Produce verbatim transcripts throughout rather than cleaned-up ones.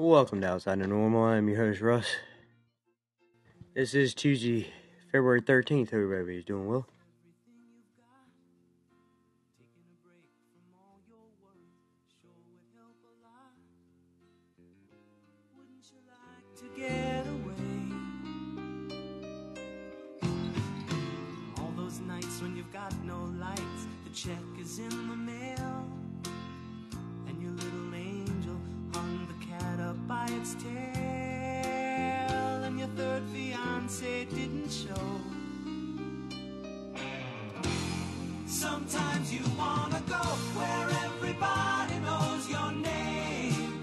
Welcome to Outside the Normal. I'm your host, Russ. This is Tuesday, February thirteenth. Hope everybody's doing well. Get away. All those nights when you've got no lights, the check is in the mail, and your little angel hung the cat up by its tail, and your third fiance didn't show. Sometimes you wanna go where everybody knows your name,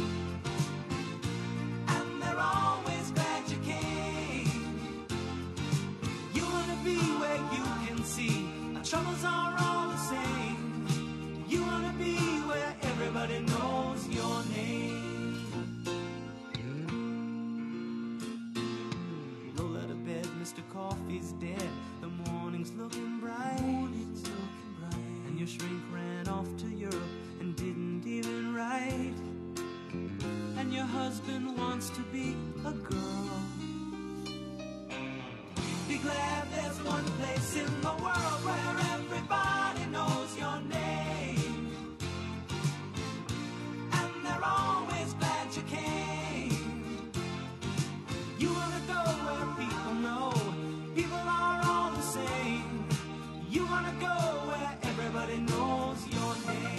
and they're always glad you came. You wanna be where you can see our troubles are all the same. You wanna be where everybody knows your name. Roll out of bed, Mister Coffee's dead. The morning's looking bright. Morning's looking bright. And your shrink ran off to Europe and didn't even write. And your husband wants to be a girl. Be glad there's one place in the world where everybody knows your name, and they're always glad you came. You wanna go where people know people are all the same. You wanna go where everybody knows your name.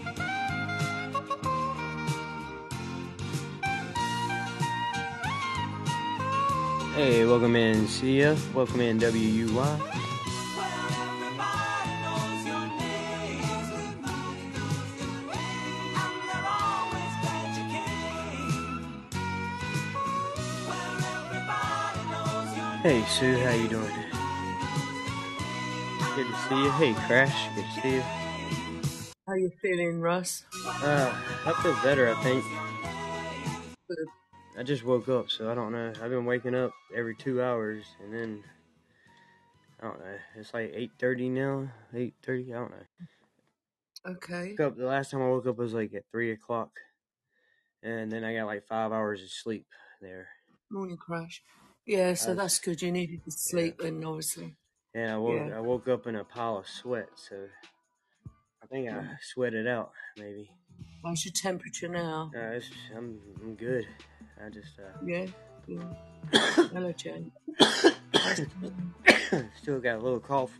Hey, welcome in C F. Welcome in W U Y. Where everybody knows your name, and they're always glad you came. Where everybody knows your name. Hey, Sue, how you doing? Good to see you. Hey, Crash, good to see you. How you feeling, Russ? Uh, I feel better, I think. Good. I just woke up, so I don't know. I've been waking up every two hours, and then, I don't know, it's like eight thirty now, eight thirty, I don't know. Okay. Woke up, the last time I woke up was like at three o'clock, and then I got like five hours of sleep there. Morning crash. Yeah, so I was- that's good. You needed to sleep then, obviously. And I woke, Yeah. I woke up in a pile of sweat, so I think I sweated out, maybe. How's your temperature now? Uh, it's, I'm, I'm good. I just, uh, Yeah. Good. Hello, Jane. still got a little cough.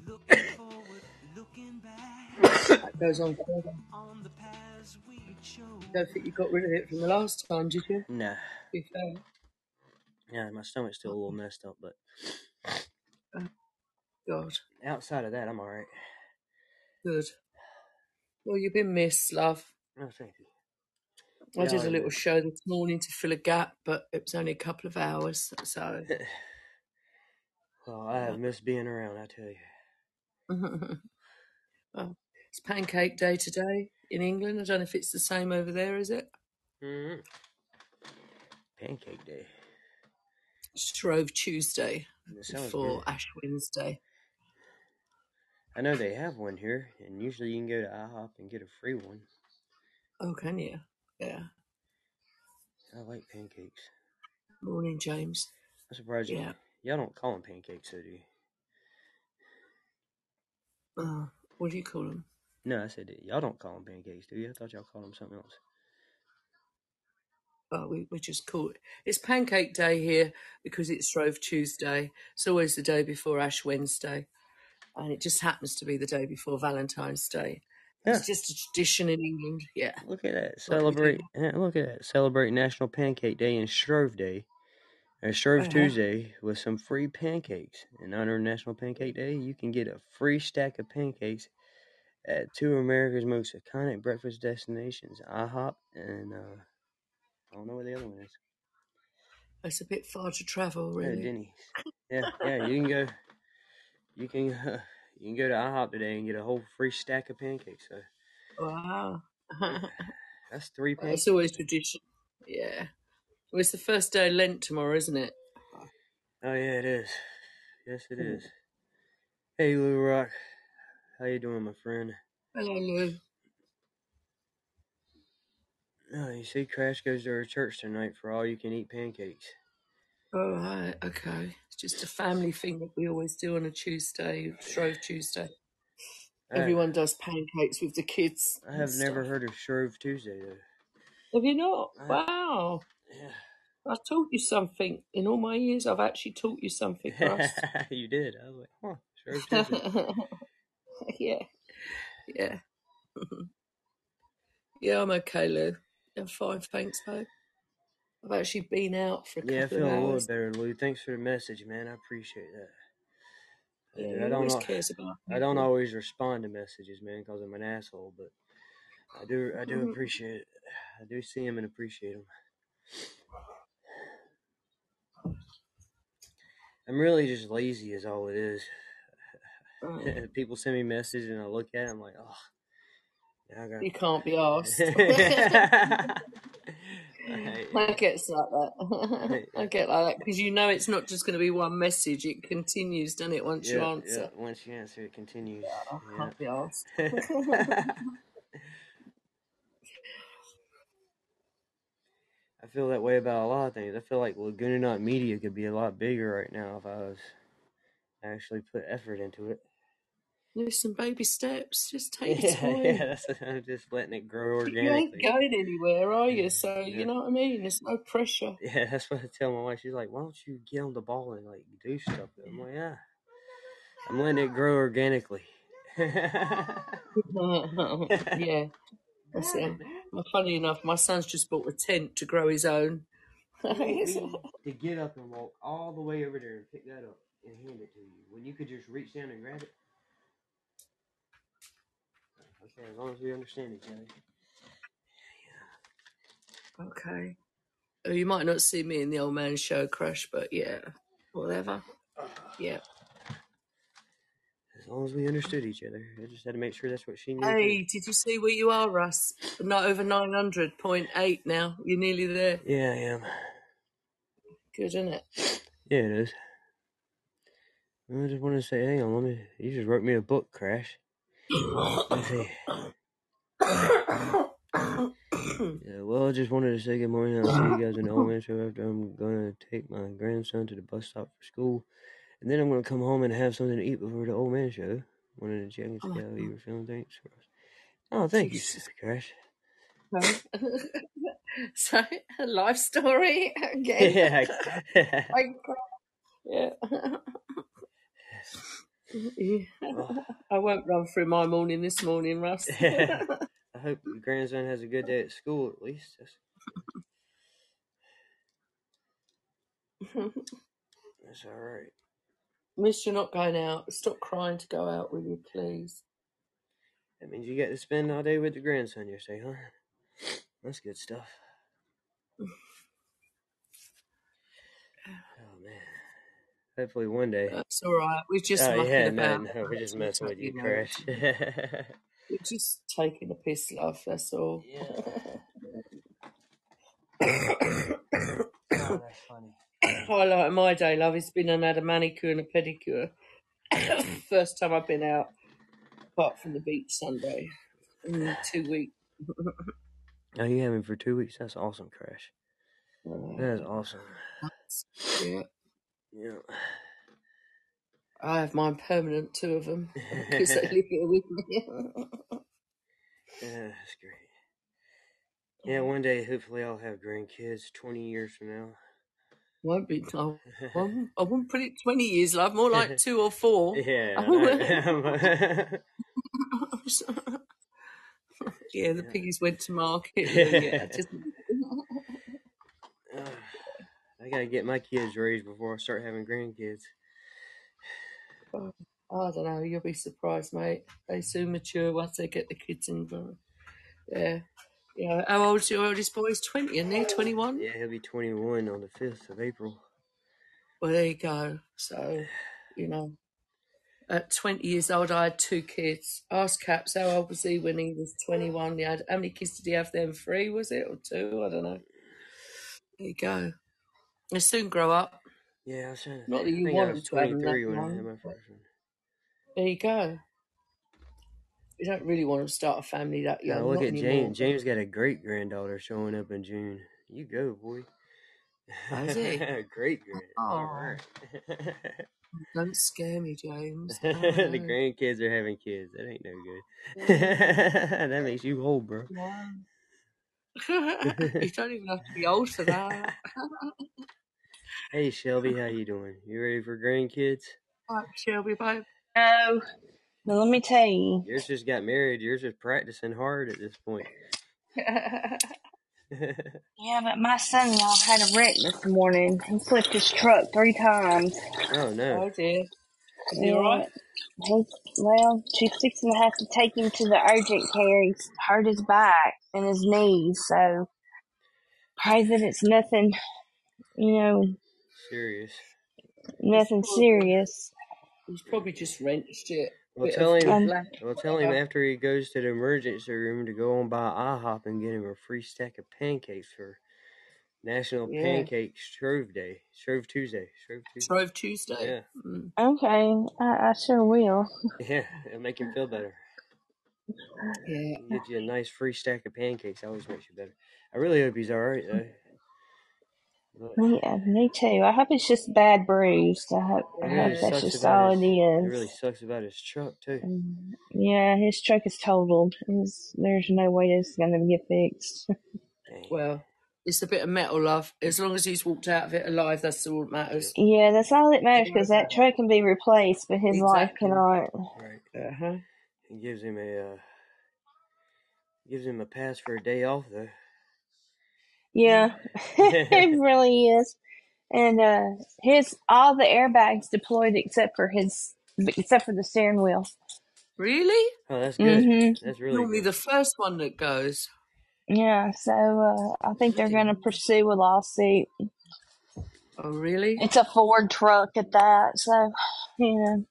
That goes on forever. Don't think you got rid of it from the last time, did you? Nah. To be fair. Yeah, my stomach's still a little messed up, but God. outside of that, I'm alright. Good. Well, you've been missed, love. No, thank you. I Yeah, did I a little know. show this morning to fill a gap, but it was only a couple of hours, so. Well, I have missed being around, I tell you. Well, it's Pancake Day today in England. I don't know if it's the same over there, is it? Mm-hmm. Pancake Day. Shrove Tuesday That sounds before good. Ash Wednesday. I know they have one here, and usually you can go to IHOP and get a free one. Oh, can you? Yeah. I like pancakes. Morning, James. I'm surprised Yeah. you, y'all don't call them pancakes, so do you? Uh, what do you call them? No, I said y'all don't call them pancakes, do you? I thought y'all called them something else. Oh, we, we just call it. It's Pancake Day here because it's Shrove Tuesday. It's always the day before Ash Wednesday. And it just happens to be the day before Valentine's Day. Yeah. It's just a tradition in England. Yeah. Look at that. Like we Celebrate. do. Yeah, look at that. Celebrate National Pancake Day and Shrove Day. Or Shrove Uh-huh. Tuesday with some free pancakes. In honor of National Pancake Day, you can get a free stack of pancakes at two of America's most iconic breakfast destinations, IHOP and uh, I don't know where the other one is. It's a bit far to travel, Oh, really. Denny's. Yeah, yeah. You can go. You can. Uh, you can go to IHOP today and get a whole free stack of pancakes. So Wow. that's three pancakes. It's always tradition. Yeah. Well, it's the first day of Lent tomorrow, isn't it? Oh yeah, it is. Yes, it is. Hey, Lou Rock. How you doing, my friend? Hello, Lou. Oh, you see, Crash goes to her church tonight for all you can eat pancakes. All right, okay. It's just a family thing that we always do on a Tuesday, Shrove Tuesday. I, Everyone does pancakes with the kids. I have and never stuff. heard of Shrove Tuesday, though. Have you not? I- Wow. Yeah. I taught you something. In all my years, I've actually taught you something, Russ. You did. I was like, huh, Shrove Tuesday. Yeah. Yeah. Yeah, I'm okay, Lou. I'm fine, thanks, babe. I've actually been out for a Yeah, I couple feel of a little hours. better, Lou. Thanks for the message, man. I appreciate that. Yeah, I he don't always al- cares about I don't people. always respond to messages, man, because I'm an asshole. But I do. I do appreciate it. I do see him and appreciate him. I'm really just lazy, is all it is. Mm. People send me messages and I look at it. I'm like, oh, now I got. You can't be asked. I, I get like that. I get like that because you know it's not just going to be one message. It continues, doesn't it? Once yeah, you answer, yeah. Once you answer, it continues. I Yeah. can't be asked. I feel that way about a lot of things. I feel like Laguna Knot Media could be a lot bigger right now if I was actually put effort into it. Listen, baby steps. Just take Yeah, your time. yeah. That's, I'm just letting it grow organically. You ain't going anywhere, are you? So Yeah. you know what I mean. There's no pressure. Yeah, that's what I tell my wife. She's like, "Why don't you get on the ball and like do stuff?" I'm like, "Yeah, I'm letting it grow organically." Yeah, that's it. Well, funny enough, my son's just bought a tent to grow his own. To get up and walk all the way over there and pick that up and hand it to you when you could just reach down and grab it. Okay, as long as we understand each other. Yeah. Okay. Oh, you might not see me in the old man show, Crash, but yeah, whatever. Yeah. As long as we understood each other. I just had to make sure that's what she knew. Hey, too. did you see where you are, Russ? Not over nine hundred point eight now. You're nearly there. Yeah, I am. Good, isn't it? Yeah, it is. I just wanted to say, hang on, let me. You just wrote me a book, Crash. Let's see. Yeah, well, I just wanted to say good morning. I'll see you guys in the old man show after I'm going to take my grandson to the bus stop for school. And then I'm going to come home and have something to eat before the old man show. Wanted to check and see Oh, how you were feeling. Thanks for us. Oh, thank you, Crash. So, a life story again. Yeah. Yeah. Yeah. Oh. I won't run through my morning this morning, Russ. I hope your grandson has a good day at school, at least. That's, that's all right. Miss, you're not going out. Stop crying to go out, will you, please? That means you get to spend all day with the grandson, you say, huh? That's good stuff. Oh, man. Hopefully one day. That's all right. We're just oh, mucking yeah, about. No, no, we're just messing with you, you know, Crash. We're just taking a piss, love. That's all. Yeah. Oh, that's funny. Highlight of my day, love, has been and had a manicure and a pedicure. First time I've been out, apart from the beach Sunday, in two weeks. Oh, you having for two weeks? That's awesome, Crash. Uh, That is awesome. Yeah. Yeah. I have mine permanent, two of them, because they live here with me. Yeah, that's great. Yeah, one day, hopefully, I'll have grandkids twenty years from now. Won't be. I won't, I won't put it twenty years, love. More like two or four. Yeah. Yeah, the piggies went to market. Yeah, just... uh, I gotta get my kids raised before I start having grandkids. Oh, I don't know. You'll be surprised, mate. They soon mature once they get the kids involved. Yeah. Yeah. How old's your oldest boy? He's twenty, isn't he? twenty-one? Yeah, he'll be twenty-one on the fifth of April. Well, there you go. So, you know, at twenty years old, I had two kids. Ask Caps, how old was he when he was twenty-one? He had, how many kids did he have then? Three, was it? Or two? I don't know. There you go. They soon grow up. Yeah, I was trying to Not think. that you I think want I was them to have them that twenty-three when I young, had my first one. There you go. You don't really want to start a family that young. Now look Not at anymore. James. James got a great granddaughter showing up in June. You go, boy. Is he? Great grand. All Oh, right. don't scare me, James. Oh, The no. grandkids are having kids. That ain't no good. That makes you old, bro. Wow. You don't even have to be old for that. Hey Shelby, how you doing? You ready for grandkids? Right, Shelby, babe. No, but let me tell you. Yours just got married. Yours is practicing hard at this point. Yeah, but my son-in-law had a wreck this morning. He flipped his truck three times. Oh no. Oh dear. Is he Yeah, alright? he, well, she's fixing to have to take him to the urgent care. He's hurt his back and his knees, so pray that it's nothing, you know, Serious. nothing It's probably- serious. He's probably just wrenched it. Well, Bit tell of him. Um, whiplash, Well, tell him whatever. after he goes to the emergency room to go on by IHOP and get him a free stack of pancakes for National Yeah. Pancake Shrove Day, Shrove Tuesday, Shrove Tuesday. Shrove Tuesday. Yeah, Mm. Okay, I, I sure will. yeah, it'll make him feel better. Yeah. Get you a nice free stack of pancakes. Always makes you better. I really hope he's all right though. But Yeah, me too. I hope it's just bad bruised. I hope, I it hope really Yeah. that's sucks just about all his. it It is. really sucks about his truck too. Um, Yeah, his truck is totaled. His, there's no way it's going to get fixed. Dang. Well, it's a bit of metal, love. As long as he's walked out of it alive, that's all that matters. Yeah, that's all that matters, because that truck can be replaced, but his life Exactly. cannot. Right. Uh-huh. It gives him a uh, gives him a pass for a day off though. Yeah, it really is. And uh, his all the airbags deployed except for his, except for the steering wheel. Really? Oh, that's good. Mm-hmm. That's really Normally good. the first one that goes. Yeah, so uh, I think they're going to pursue a lawsuit. Oh, really? It's a Ford truck at that, so you know.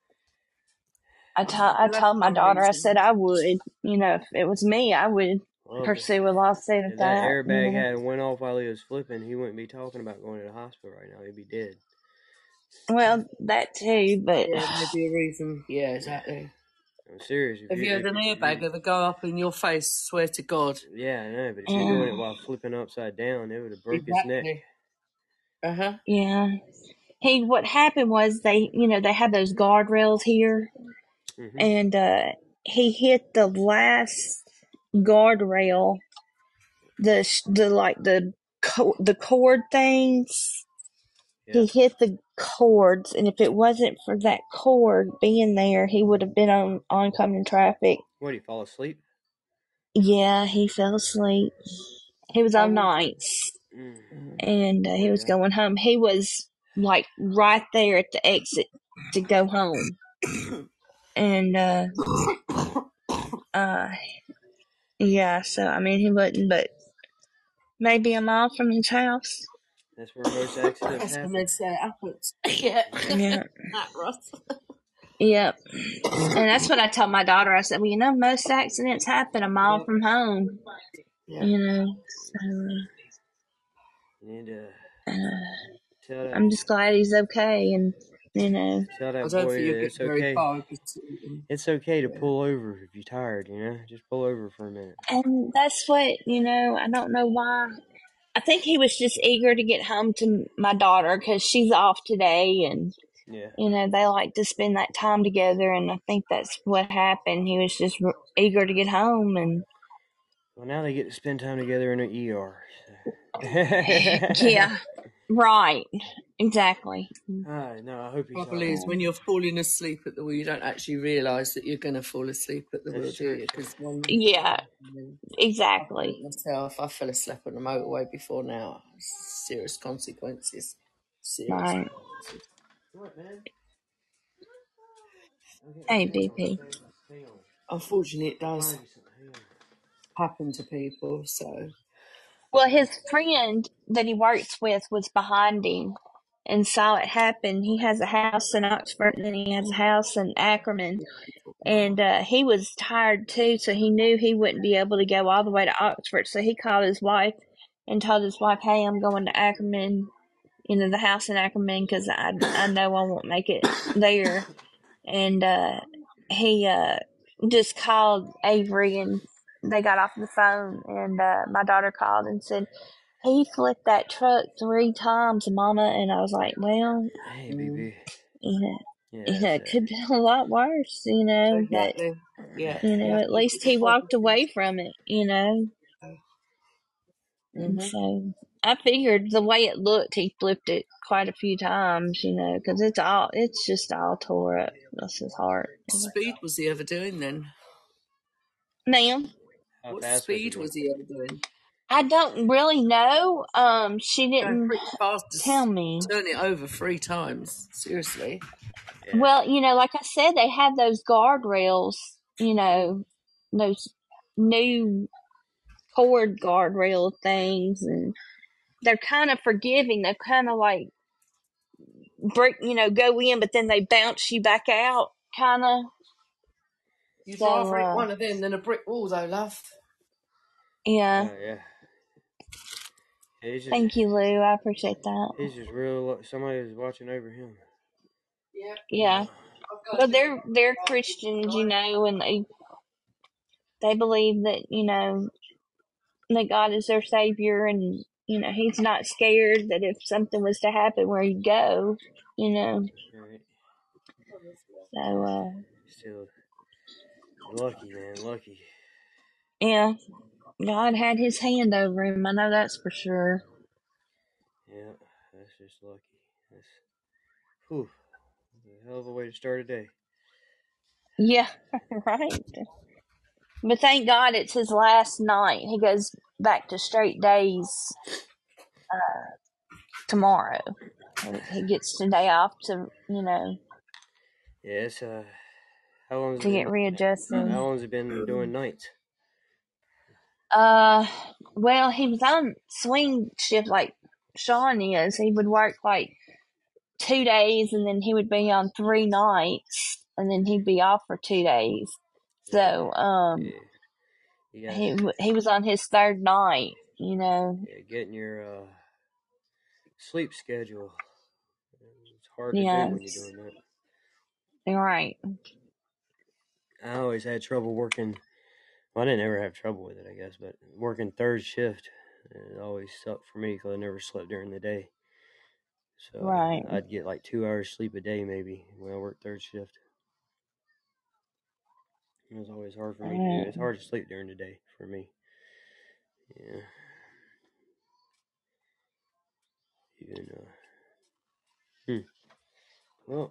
I told I Well, told my that's no daughter, I reason. said I would, you know, if it was me, I would Well, if, pursue a lawsuit if at that that. airbag you know. had went off while he was flipping, he wouldn't be talking about going to the hospital right now. He'd be dead. Well, that too, but Yeah, maybe a reason. Yeah, exactly. I'm serious. If Have you had if an if airbag ever go up in your face? Swear to God. Yeah, I know, but if you're doing it while flipping upside down, it would have broke his neck. Exactly. Uh-huh. yeah. He, what happened was they, you know, they had those guardrails here, Mm-hmm. and uh, he hit the last guardrail, the sh- the like the co- the cord things. Yeah. He hit the cords, and if it wasn't for that cord being there, he would have been on oncoming traffic. What, did he fall asleep? Yeah, he fell asleep. He was on Oh. nights, Mm. and uh, he was Yeah. going home. He was like right there at the exit to go home, and uh, uh, yeah. So I mean, he wasn't, but maybe a mile from his house. That's where most accidents That's when happen. they say it happens. Yeah. Yeah. That, Russ. Yep. And that's what I told my daughter. I said, well, you know, most accidents happen a mile Yeah. from home. Yeah. You know, so You need to uh, tell that, I'm just glad he's okay, and you know, tell I that don't boy think you'll that get it's very okay. far. Because, um, It's okay to Yeah. pull over if you're tired, you know? Just pull over for a minute. and that's what, you know, I don't know why. I think he was just eager to get home to my daughter because she's off today, and Yeah. you know, they like to spend that time together, and I think that's what happened. He was just r- eager to get home, and Well, now they get to spend time together in an E R. So. yeah, right, exactly. Ah, no, I hope he's Trouble all is, right. when you're falling asleep at the wheel, you don't actually realise that you're going to fall asleep at the That's wheel, do true. you? Because one, Yeah, I've exactly. myself, I fell asleep on the motorway before now. Serious consequences. Serious Right. consequences. What, man? Hey, B P. Hang on. Unfortunately, it does Find you something. Hang on. happen to people. So Well, his friend that he works with was behind him and saw it happen. He has a house in Oxford, and then he has a house in Ackerman. And uh, he was tired too, so he knew he wouldn't be able to go all the way to Oxford. So he called his wife and told his wife, "Hey, I'm going to Ackerman, you know, the house in Ackerman, because I I know I won't make it there." And uh, he uh, just called Avery, and they got off the phone, and uh, my daughter called and said, he flipped that truck three times, Mama. And I was like, well, Hey, B B. you know, Yeah, you know, it that's, uh, could be a lot worse, you know. Exactly. But, Yeah. you know, at least he walked away from it, you know. And Mhm. so I figured the way it looked, he flipped it quite a few times, you know, because it's all, it's just all tore up. That's his heart. What speed was he ever doing then? Ma'am, how What fast was he speed going? was he ever doing? I don't really know. Um, she Going didn't pretty fast to tell s- me. turn it over three times. Seriously. Yeah. Well, you know, like I said, they have those guardrails, you know, those new cord guardrail things, and they're kind of forgiving. They're kind of like break, you know, go in, but then they bounce you back out, kind of. You'd So, rather hit uh, one of them than a brick wall, though, love. yeah. Oh, yeah. He's just, Thank you, Lou. I appreciate that. he's just real. Somebody is watching over him. Yeah. Yeah. Well, they're they're Christians, you know, and they they believe that, you know, that God is their savior, and you know he's not scared that if something was to happen, where he'd go, you know. Right. So uh, Still lucky, man. Lucky. yeah, God had His hand over him. I know that's for sure. Yeah, that's just lucky. That's, whew, a hell of a way to start a day. Yeah, right. But thank God it's his last night. He goes back to straight days uh, tomorrow. He gets today off to, you know, Yeah, it's uh, how long has to it get been? readjusted. How long has it been doing nights? Uh, well, he was on swing shift like Sean is. He would work like two days, and then he would be on three nights, and then he'd be off for two days. So, um, Yeah. You guys, he he was on his third night. You know. yeah, getting your uh, sleep schedule. It's hard to Yeah. do when you're doing that. You're right. I always had trouble working. Well, I didn't ever have trouble with it, I guess, but working third shift, it always sucked for me because I never slept during the day. So Right. I'd get like two hours sleep a day maybe when I worked third shift. It was always hard for me to do. It's hard to sleep during the day for me. Yeah. Even, uh, hmm. Well,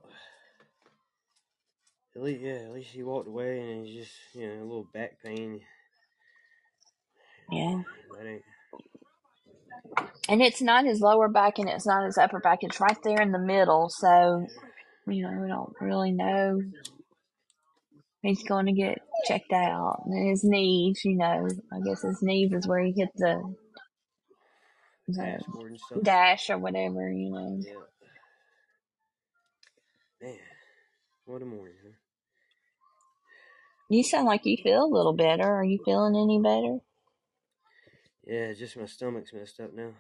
at least, yeah, at least he walked away and he's just, you know, a little back pain. Yeah. That ain't. And it's not his lower back and it's not his upper back. It's right there in the middle. So, you know, we don't really know. He's going to get checked out. And his knees, you know, I guess his knees is where he hit the, the Dashboard and stuff. dash or whatever, you know. Yeah. Man, what a morning, huh? You sound like you feel a little better. Are you feeling any better? Yeah, just my stomach's messed up now.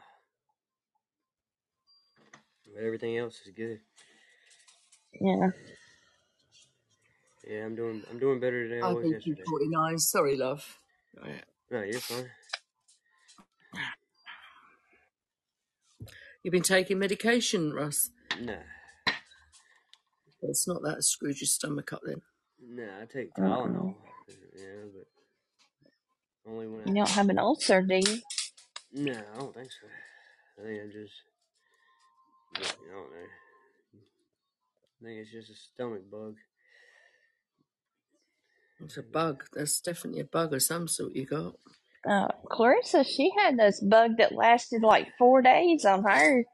But everything else is good. Yeah. Yeah, I'm doing I'm doing better than I I was think yesterday. forty-nine. Sorry, love. No, you're fine. You've been taking medication, Russ? Nah. It's not that it screwed your stomach up then. Nah, I take Uh-uh. Tylenol. Yeah, but only when I... You don't have an ulcer, do you? No, I don't think so. I think I'm just... I don't know. I think it's just a stomach bug. It's a bug. That's definitely a bug of some sort you got. Uh, Clarissa, she had this bug that lasted like four days on her.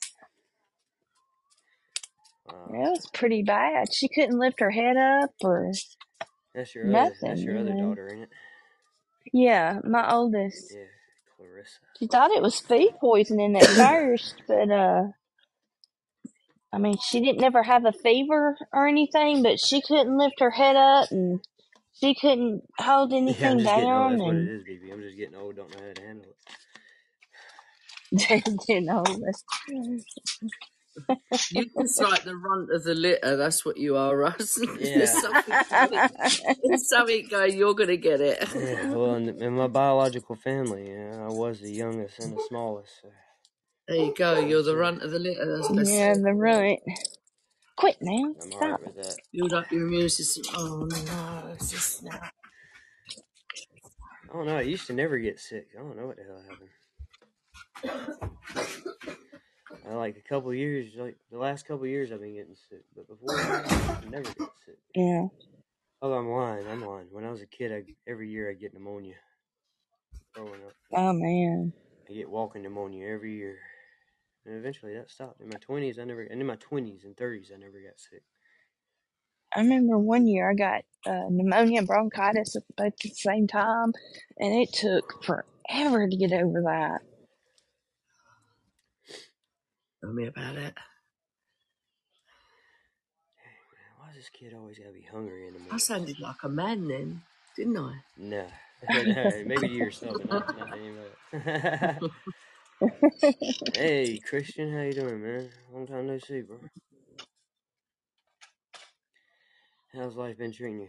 Wow. It was pretty bad. She couldn't lift her head up or That's your nothing. other, that's your you other know. daughter, ain't it? Yeah, my oldest. Yeah, Clarissa. She thought it was food poisoning at first, but uh, I mean, she didn't never have a fever or anything, but she couldn't lift her head up and she couldn't hold anything Yeah, I'm just down. getting old. That's what it and is, B B. I'm just getting old. Don't know how to handle it. you know, that's- You just like the runt of the litter. That's what you are, Russ. Yeah. There's something going. There's something going. You're gonna get it. Yeah, well, in, in my biological family, yeah, I was the youngest and the smallest. So. There you go. You're the That's it. runt of the litter. That's best. Yeah, the runt. Quit now. I'm Stop. alright with that. Build up your immune system. Oh no, it's just now. I don't know. I used to never get sick. I don't know what the hell happened. I, like a couple years, like the last couple years, I've been getting sick, but before I never got sick. Yeah. Oh, I'm lying. I'm lying. When I was a kid, I, every year I get pneumonia. Growing up, Oh man. I get walking pneumonia every year, and eventually that stopped. In my twenties, I never, and in my twenties and thirties, I never got sick. I remember one year I got uh, pneumonia and bronchitis at both at the same time, and it took forever to get over that. Tell me about it. Why does this kid always gotta be hungry in the morning? I sounded like a man then, didn't I? No, no, maybe to yourself, but not, not to anybody. Hey, Christian, how you doing, man? Long time no see, bro. How's life been treating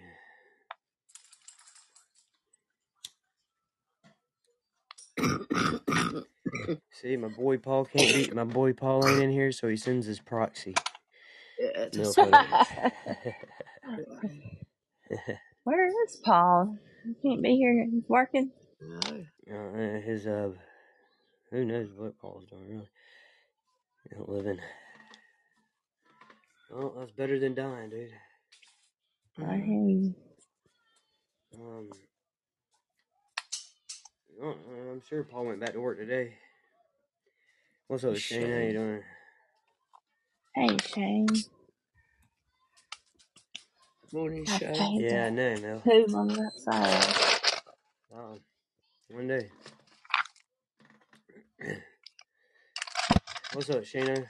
you? See, my boy Paul can't be. My boy Paul ain't in here, so he sends his proxy. Yeah, Milk that's Where is Paul? He can't be here. He's working. no. Uh, his uh, who knows what Paul's doing really? Living. Well, that's better than dying, dude. I hear you. Um, oh, I'm sure Paul went back to work today. What's up, Shane? How you doing? Hey, Shane. Morning, I Shane. paid Yeah, I the know, Mel. poom on that side. Um, one day. What's up, Shane?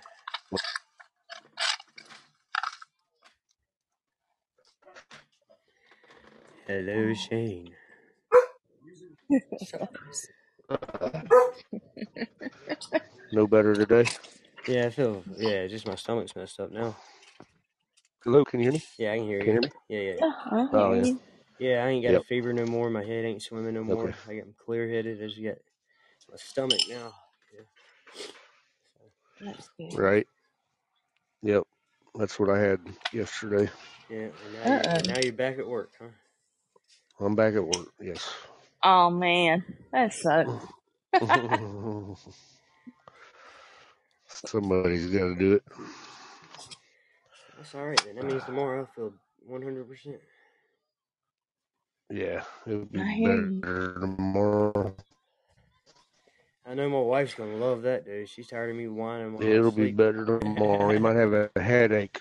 Hello, Shane. No better today? Yeah, I feel, yeah, just my stomach's messed up now. Hello, can you hear me? Yeah, I can hear Can you. you hear me? Yeah, yeah. Yeah, I hear Oh, yeah. you. Yeah, I ain't got Yep. a fever no more. My head ain't swimming no more. Okay. I got clear-headed. I just got my stomach now. Yeah. So, That's good. Right. Yep. That's what I had yesterday. yeah, and now, you're, and now you're back at work, huh? I'm back at work, yes. Oh, man. That sucks. Somebody's got to do it. That's all right, then. That means tomorrow I'll feel one hundred percent. Yeah, it'll be I hear you. better tomorrow. I know my wife's going to love that, dude. She's tired of me whining while I'm It'll be asleep. better tomorrow. He might have a headache.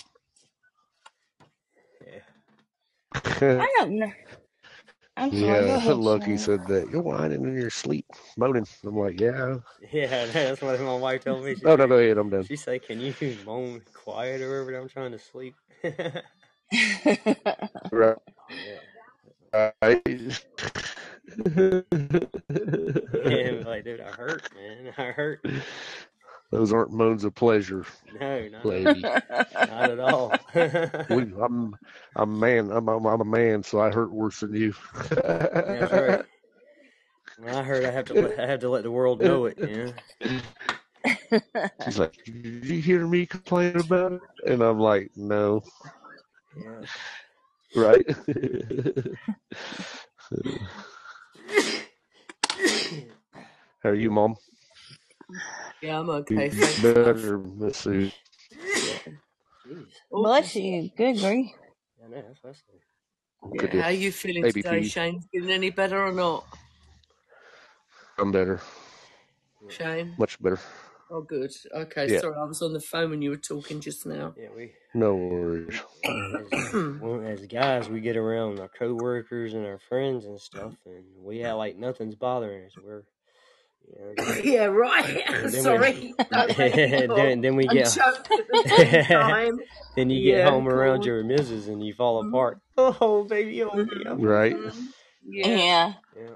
Yeah. I don't know. I'm sorry. Go Yeah, ahead, Lucky Shane. said that. You're whining in your sleep, moaning. I'm like, yeah. Yeah, that's what my wife told me. She Oh, said, no, go ahead. I'm done. She said, can you moan quiet or whatever? I'm trying to sleep. Right. Yeah. Right. Yeah, like, dude, I hurt, man. I hurt. Those aren't moans of pleasure. No, not, lady. not at all. we, I'm, I'm a man. I'm, I'm, I'm a man, so I hurt worse than you. That's right. When I hurt, I have to let, I have to let the world know it. You know? She's like, did you hear me complain about it? And I'm like, no. Yeah. Right? How are you, Mom? Yeah, I'm okay. You Thanks. better, Miss Sue. Jeez. Bless you. Good grief. I know, that's what I said. Yeah, Good deal. how are you feeling A B today, P. Shane? Feeling any better or not? I'm better. Shane? Much better. Oh, good. Okay, Yeah. sorry, I was on the phone when you were talking just now. Yeah, we. No worries. As, well, as guys, we get around our coworkers and our friends and stuff, and we act like nothing's bothering us. We're, you know, yeah, right. then Sorry. We, then, then we get. Time. Then you Yeah, get home cool. around your missus and you fall Mhm. apart. Oh, baby, oh, baby. Mhm. Right. Yeah. Yeah. Yeah.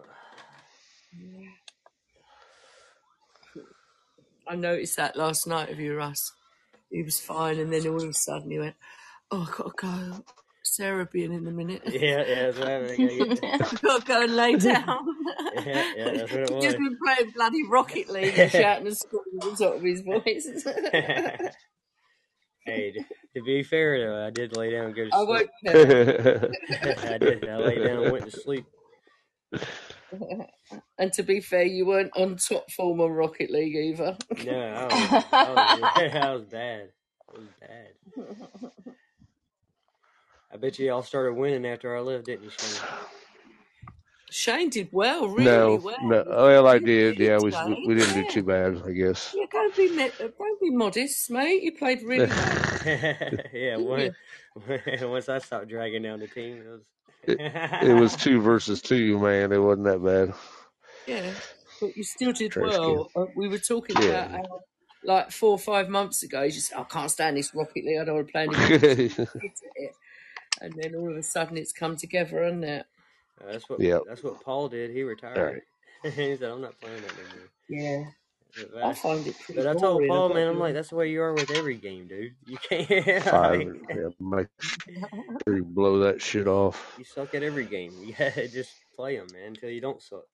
I noticed that last night of you, Russ. he was fine, and then all of a sudden he went, "Oh, I've got to go. Sarah being in a minute. Yeah, yeah, that's what happened. I gotta get I've got to go and lay down." Yeah, yeah, that's what it He's was. just been playing bloody Rocket League and shouting and screaming at the top of his voice. Hey, to, to be fair though, I did lay down and go to I sleep. won't tell. I did. I laid down and went to sleep. And to be fair, you weren't on top form on Rocket League either. No, I was, I was, I was bad. It was bad. I bet you all started winning after I left, didn't you, Shane? Shane did well, really No, well. no. Well, I You did. did, Yeah, we Shane, we didn't do yeah. too bad, I guess. Yeah, don't be me- don't be modest, mate. You played really well. Yeah, Didn't when, you? once I stopped dragging down the team, it was. It, it was two versus two, man. It wasn't that bad. Yeah, but you still did Trash can. well. Uh, we were talking about Yeah. how, like four or five months ago, you just said, "I can't stand this Rocket League. I don't want to play anymore." And then all of a sudden, it's come together, hasn't it? Uh, that's what. Yep. That's what Paul did. He retired. All right. He said, "I'm not playing that anymore." Yeah, But I I, find it pretty but I told boring. Paul, I've got man, to I'm be like, honest. that's the way you are with every game, dude. You can't. Five. Like, Yeah, make sure you blow that shit off. you suck at every game. You gotta just play them, man, until you don't suck.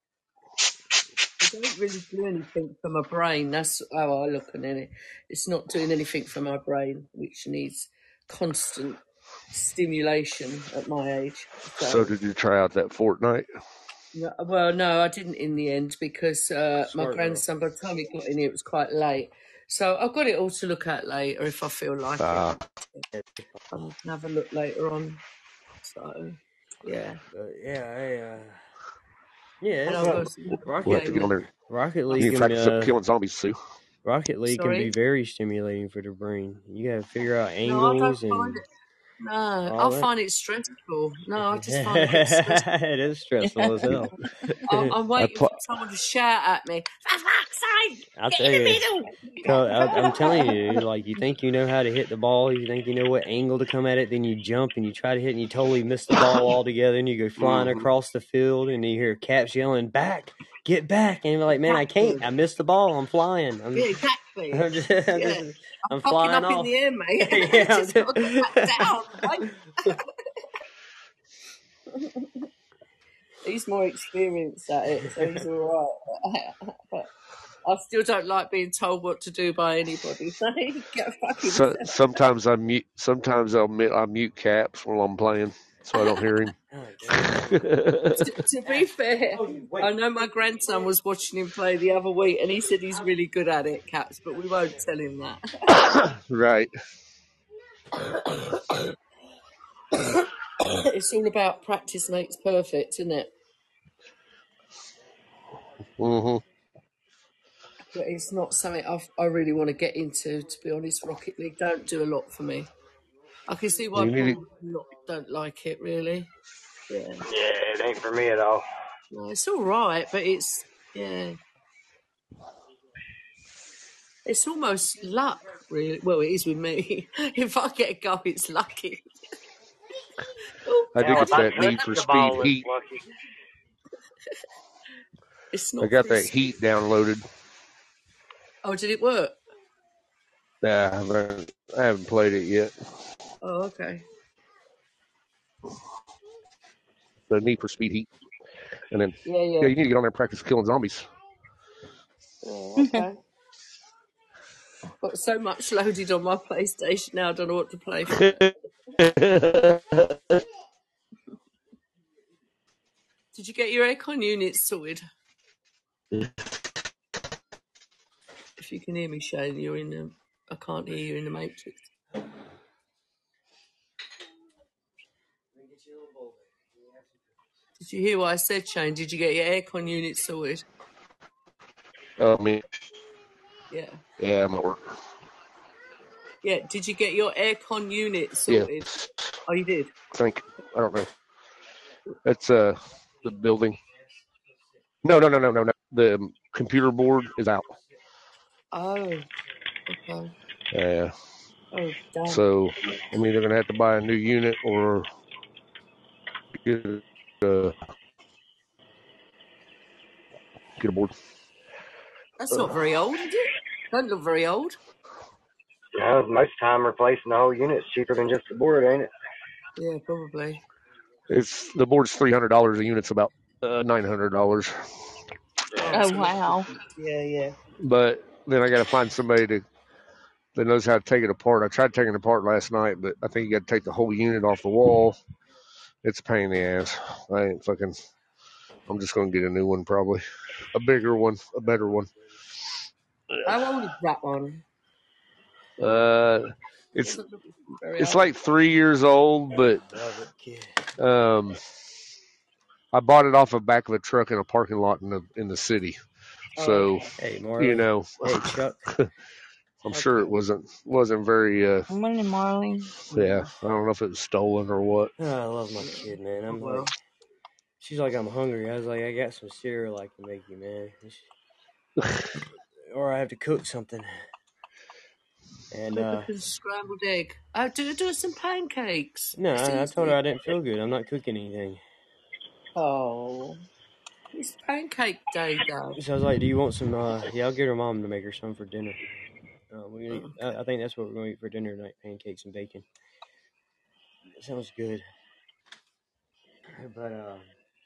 I don't really do anything for my brain. That's how I look at it. It's not doing anything for my brain, which needs constant stimulation at my age. So So, did you try out that Fortnite? no, well, no, I didn't in the end because uh, my Smart girl. grandson, by the time he got in here, it was quite late. So I've got it all to look at later if I feel like Ah, it. I can have a look later on. So, yeah. But yeah, I, uh, yeah, And it's I'll go Rocket, see the we'll have to get on game. there. Rocket You League need to can practice up uh, killing zombies, Sue. Rocket League can be Sorry? very stimulating for the brain. You gotta figure out No, I don't angles find and it. No, all I that. find it stressful. No, I just find it gets stressful. It is stressful as hell. I- I'm I waiting pl- for someone to shout at me. For fuck's sake, I'll get tell in the you, middle. cause I, I'm telling you, dude, like you think you know how to hit the ball, you think you know what angle to come at it, then you jump and you try to hit and you totally miss the ball altogether, and you go flying Mhm. across the field, and you hear Caps yelling, "Back, get back!" And you're like, "Man, I can't. I missed the ball. I'm flying. I'm, Yeah, exactly. I'm just, I'm, Yeah. just, I'm I'm fucking flying up in off." the air, mate. Yeah, I'm Just got to get back down. Right? He's more experienced at it, so he's all right. But I still don't like being told what to do by anybody. So he get fucking So, himself. sometimes I mute. Sometimes I'll mute, I mute Caps while I'm playing, so I don't hear him. Oh, damn. to, to be fair, I know my grandson was watching him play the other week, and he said he's really good at it, Caps, but we won't tell him that. Right. It's all about practice makes perfect, isn't it? Mm-hmm. But it's not something I've, I really want to get into, to be honest. Rocket League don't do a lot for me. I can see why You need people not, don't like it, really. Yeah. Yeah, it ain't for me at all. No, it's all right, but it's, yeah. It's almost luck, really. Well, it is with me. If I get a goal, it's lucky. Oh, I did Now, get if I that touch Need for the Speed ball, it's Heat. lucky. it's I not got for that Heat downloaded. Oh, did it work? Nah, I haven't, I haven't played it yet. Oh, okay. The Need for Speed Heat, and then Yeah, yeah. yeah, you need to get on there and practice killing zombies. Oh, okay. Got so much loaded on my PlayStation now, I don't know what to play for. Did you get your aircon units sorted? If you can hear me, Shane, you're in the. I can't hear you in the Matrix. Did you hear what I said, Shane? Did you get your aircon units sorted? Oh, me. Yeah. Yeah, I'm at work. Yeah. Did you get your aircon units Yeah, sorted? Oh, you did. I think I don't know. That's uh the building. No, no, no, no, no, no. The computer board is out. Oh. Okay. Yeah. Oh, damn. So I'm either gonna have to buy a new unit or get a get a board. That's not very old, is it? Don't look very old. You know, most time replacing the whole unit's cheaper than just the board, ain't it? Yeah, probably. It's the board's three hundred dollars. The unit's about uh, nine hundred dollars. Yeah. Oh wow. Yeah, yeah. But then I got to find somebody to that knows how to take it apart. I tried taking it apart last night, but I think you got to take the whole unit off the wall. It's a pain in the ass. I ain't fucking. I'm just gonna get a new one, probably a bigger one, a better one. How old is that one? Uh, it's Doesn't look very it's old. like three years old, but Love it, kid. um, I bought it off the back of a truck in a parking lot in the in the city. Oh, So okay. Hey, Marley. you know, Hey, Chuck. I'm sure it wasn't wasn't very. Uh, Morning, Marley. yeah, I don't know if it was stolen or what. Oh, I love my kid, man. I'm Well. like, she's like, I'm hungry. I was like, I got some cereal I can make you, man. She, or I have to cook something. And uh, Cook and scrambled egg. Oh, do do some pancakes. no, It's I, I told easy. her I didn't feel good. I'm not cooking anything. Oh, it's pancake day, though. So I was like, do you want some? Uh, yeah, I'll get her mom to make her some for dinner. Uh, we're gonna eat, Okay. I, I think that's what we're going to eat for dinner tonight, pancakes and bacon. That sounds good. But uh,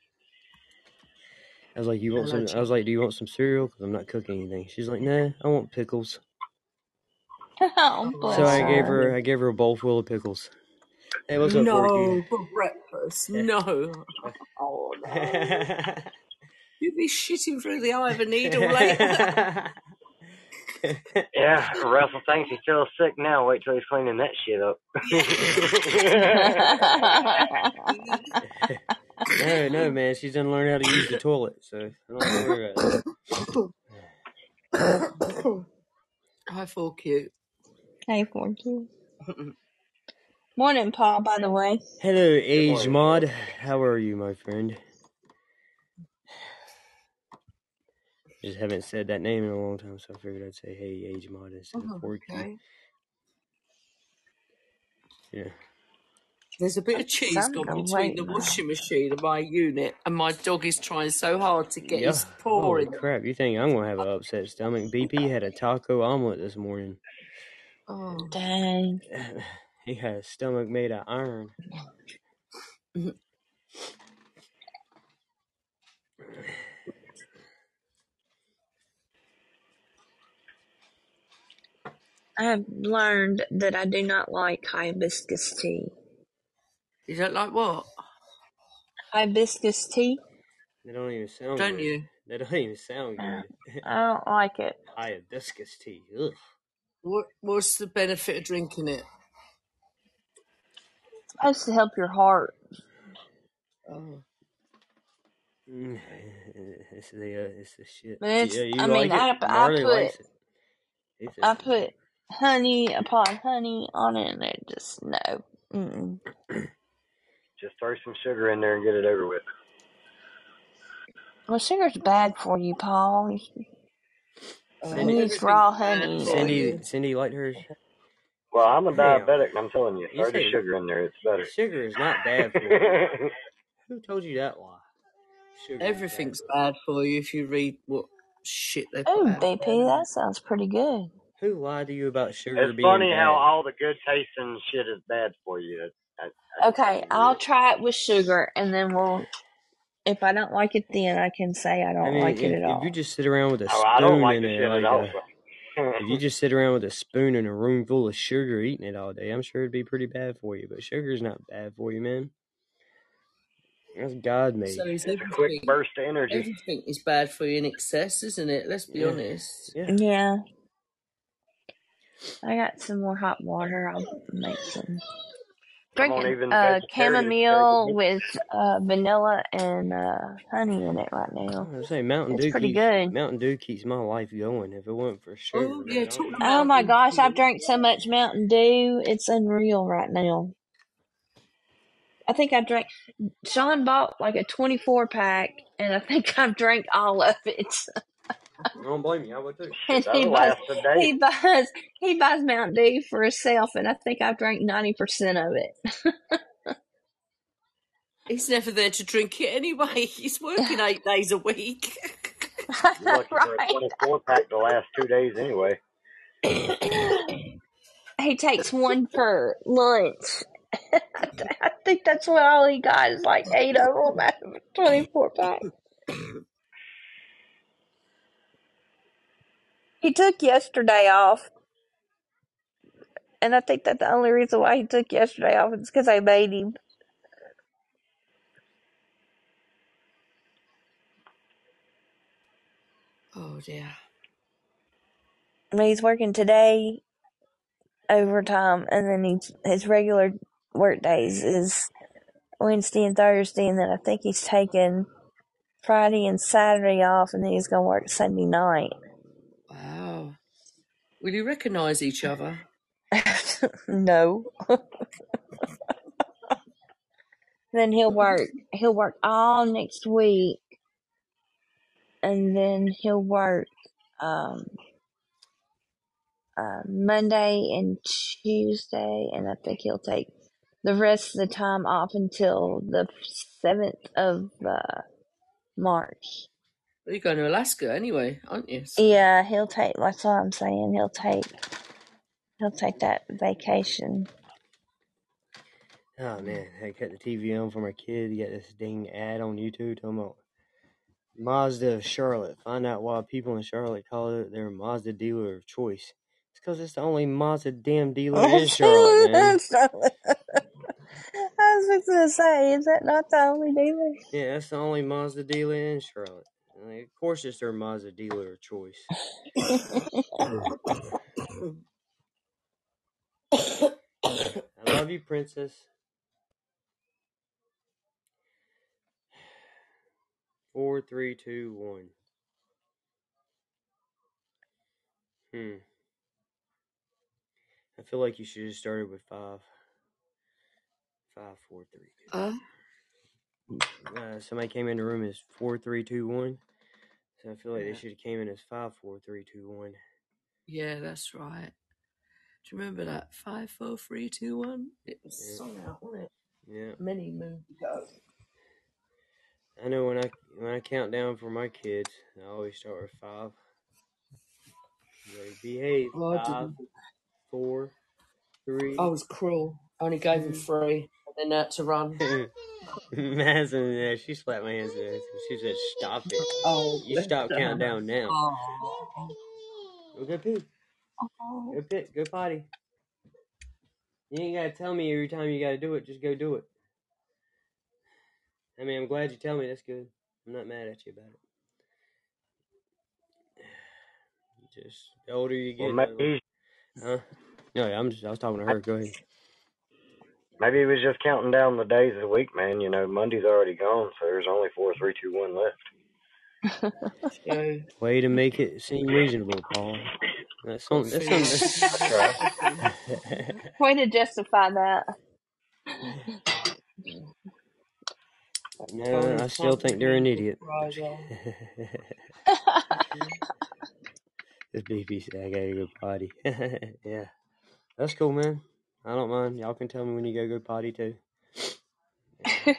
I was like, you want Hello, some? I was like, do you want some cereal? Because I'm not cooking anything. She's like, nah, I want pickles. Oh, bless So I gave her. her, I gave her a bowl full of pickles. Hey, what's up, Forky? No, for breakfast. No. Oh, no. You'd be shitting through the eye of a needle later. Yeah, Russell thinks he feels sick now. Wait till he's cleaning that shit up. No, no, man. She's done learn how to use the toilet, so I don't have to worry about it. Hi, for cute. Hey, Forky. Morning, Paul, by the way. Hello, Age Mod. How are you, my friend? Just haven't said that name in a long time, so I figured I'd say, hey, Age Mod, instead Oh, of Forky. okay. Yeah. There's a bit of cheese Some gone go between wait the now. washing machine and my unit, and my dog is trying so hard to get Yeah. his paw Holy in. crap. You think I'm going to have an upset stomach? B P had a taco omelet this morning. Oh. Dang. He had a stomach made of iron. I have learned that I do not like hibiscus tea. You don't like what? Hibiscus tea? They don't even sound Don't good. you? They don't even sound Uh, good. I don't like it. Hibiscus tea. Ugh. What What's the benefit of drinking it? It's supposed to help your heart. Oh. Mm, It's the uh, it's the shit. But it's, Yeah, you I like mean, I, it? I Marley likes put, it. He says I it's put honey upon honey on it, and it just, no. Mm-mm. Just throw some sugar in there and get it over with. Well, sugar's bad for you, Paul. Oh, Cindy- You use everything's raw bad honey. for Cindy, you. Cindy liked hers. Well, I'm a Hell. diabetic, and I'm telling you, You throw the say- sugar in there. It's better. Sugar is not bad for you. Who told you that lie? Sugar is Everything's bad bad for you if you read what shit they put Ooh, out. B P, that sounds pretty good. for you. Who lied to you about sugar It's being funny bad? how all the good tasting shit is bad for you. That, that, that's Okay, fucking I'll weird. try it with sugar, and then we'll. If I don't like it, then I can say I don't I mean, like if, it at if all. you just sit around with a Oh, I don't spoon like in the there, shit like at all. a, if you just sit around with a spoon in a room full of sugar eating it all day, I'm sure it'd be pretty bad for you. But sugar's not bad for you, man. That's God made. So is It's a quick everything. burst of energy. Everything is bad for you in excess, isn't it? Let's be Yeah. honest. Yeah. Yeah. I got some more hot water. I'll make some. Come on, Drinking even uh, vegetarians chamomile take it. with uh, vanilla and uh, honey in it right I now. was gonna say Mountain It's Dew pretty keeps good. Mountain Dew keeps my life going. If it wasn't for sugar, Oh, man, yeah, I talking don't- Oh about my gosh, I've Dew. drank so much Mountain Dew. It's unreal right now. I think I drank. Sean bought like a twenty-four pack, and I think I've drank all of it. I don't blame you. I would too. And Shit, he that'll buys, last a day. he buys, he buys Mountain Dew for himself, and I think I've drank ninety percent of it. He's never there to drink it anyway. He's working eight days a week. You're lucky for a Right. twenty-four pack to last two days anyway. he takes one for lunch. I think that's what all he got is like eight of them out of a twenty-four pack. He took yesterday off. And I think that the only reason why he took yesterday off is because I made him. Oh, dear. I mean, he's working today overtime, and then he's, his regular work days is Wednesday and Thursday, and then I think he's taking Friday and Saturday off, and then he's going to work Sunday night. Wow. Will you recognise each other? No. Then he'll work. He'll work all next week, and then he'll work um, uh, Monday and Tuesday, and I think he'll take the rest of the time off until the seventh of uh, March. Well, you're going to Alaska anyway, aren't you? So. Yeah, he'll take. That's what I'm saying. He'll take. He'll take that vacation. Oh man, I cut the T V on for my kid. You got this dang ad on YouTube talking about Mazda of Charlotte. Find out why people in Charlotte call it their Mazda dealer of choice. It's because it's the only Mazda damn dealer in Charlotte, man. I was just gonna say, is that not the only dealer? Yeah, that's the only Mazda dealer in Charlotte. Like, of course, it's their Mazda dealer of choice. I love you, princess. Four, three, two, one. Hmm. I feel like you should have started with five. Five, four, three, two. Uh? Uh, somebody came in the room as four, three, two, one. So I feel like Yeah. they should have came in as five, four, three, two, one. Yeah, that's right. Do you remember that? Five, four, three, two, one? It was Yeah. sung out, wasn't it? Yeah. Many moons ago. I know when I when I count down for my kids, I always start with five. They behave. Oh, I Five, didn't. four, three. I was cruel. I only gave him three, and then had to run. Madison, yeah, she slapped my hands in there. She said, "Stop it! Oh, You stop counting down now. Oh. Go go pee. Go pit. Go potty. You ain't gotta tell me every time you gotta do it. Just go do it. I mean, I'm glad you tell me. That's good. I'm not mad at you about it. Just the older you get, Well, maybe, huh? No, yeah, I'm just. I was talking to her. Go ahead. maybe he was just counting down the days of the week, man. You know, Monday's already gone, so there's only four, three, two, one left. So, Way to make it seem reasonable, Paul. That's got something. That's feelings. something. Way to justify that. No, I still think they're an idiot. This B B said I gotta go potty. Yeah, that's cool, man. I don't mind. Y'all can tell me when you go go potty too. Yeah.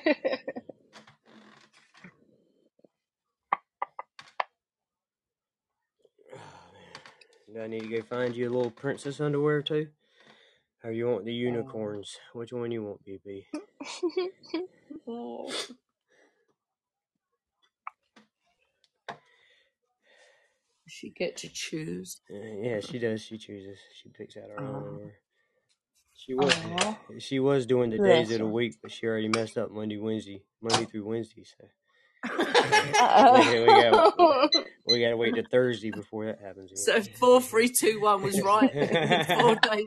Do I need to go find you a little princess underwear too? Or you want the unicorns? Which one you want, B B? Oh. She get to choose. Uh, yeah, she does. She chooses. She picks out her own Oh. underwear. She was Aw. she was doing the Bless days of the her. week, but she already messed up Monday, Wednesday, Monday through Wednesday. So Uh-oh. we, we got we got to wait to Thursday before that happens. So four, three, two, one was right. Four days.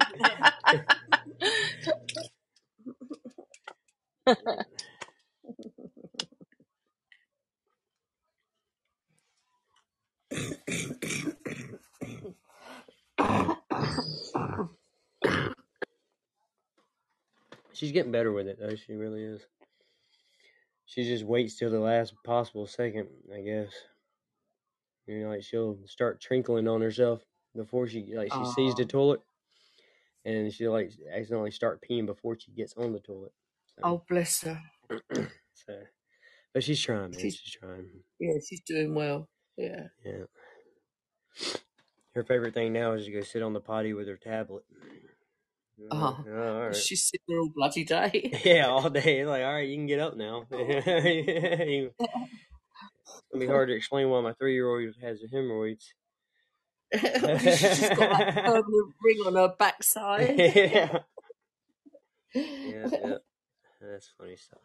She's getting better with it, though. She really is. She just waits till the last possible second, I guess. You know, like she'll start trinkling on herself before she like she Oh. sees the toilet, and she'll like accidentally start peeing before she gets on the toilet. So, Oh, bless her. so, but she's trying, man. She's- She's trying. Yeah, she's doing well. Yeah. Yeah. Her favorite thing now is to go sit on the potty with her tablet. Oh, oh, all right. she's sitting there all bloody day. Yeah, all day. Like, all right, you can get up now. It's gonna be hard to explain why my three-year-old has hemorrhoids. She's got that permanent ring on her backside. Yeah. Yeah, yeah. That's funny stuff.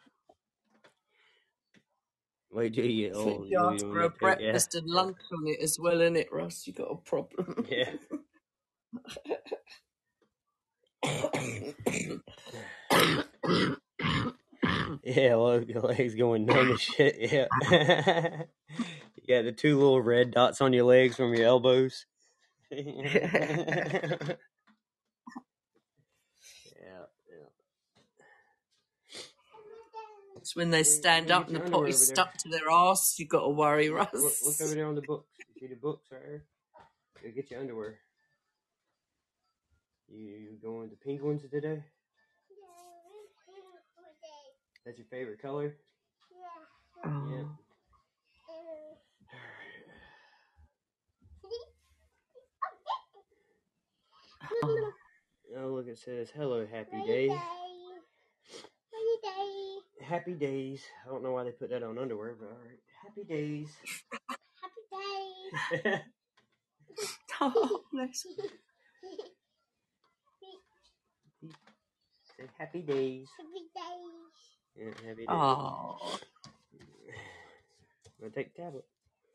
Wait till you get I think old. you You'll ask be for a one to take- breakfast and lunch on it as well, innit, Russ? You got a problem. Yeah. Yeah, look, your legs going numb as shit. Yeah. You got the two little red dots on your legs from your elbows. Yeah, yeah. It's when they stand Hey, up get and the your underwear potty's over there. stuck to their arse, you got to worry, Look, Russ. look, look over there on the books. You see the books right here? Go get your underwear. You, you going with the pink ones today? That's your favorite color? Oh. Yeah. Oh. Oh, look, it says, hello, happy day. Happy days. I don't know why they put that on underwear, but all right. Happy days. Happy days. Oh, bless you. Say happy days. Happy days. Yeah, happy days. Oh. Wanna take the tablet?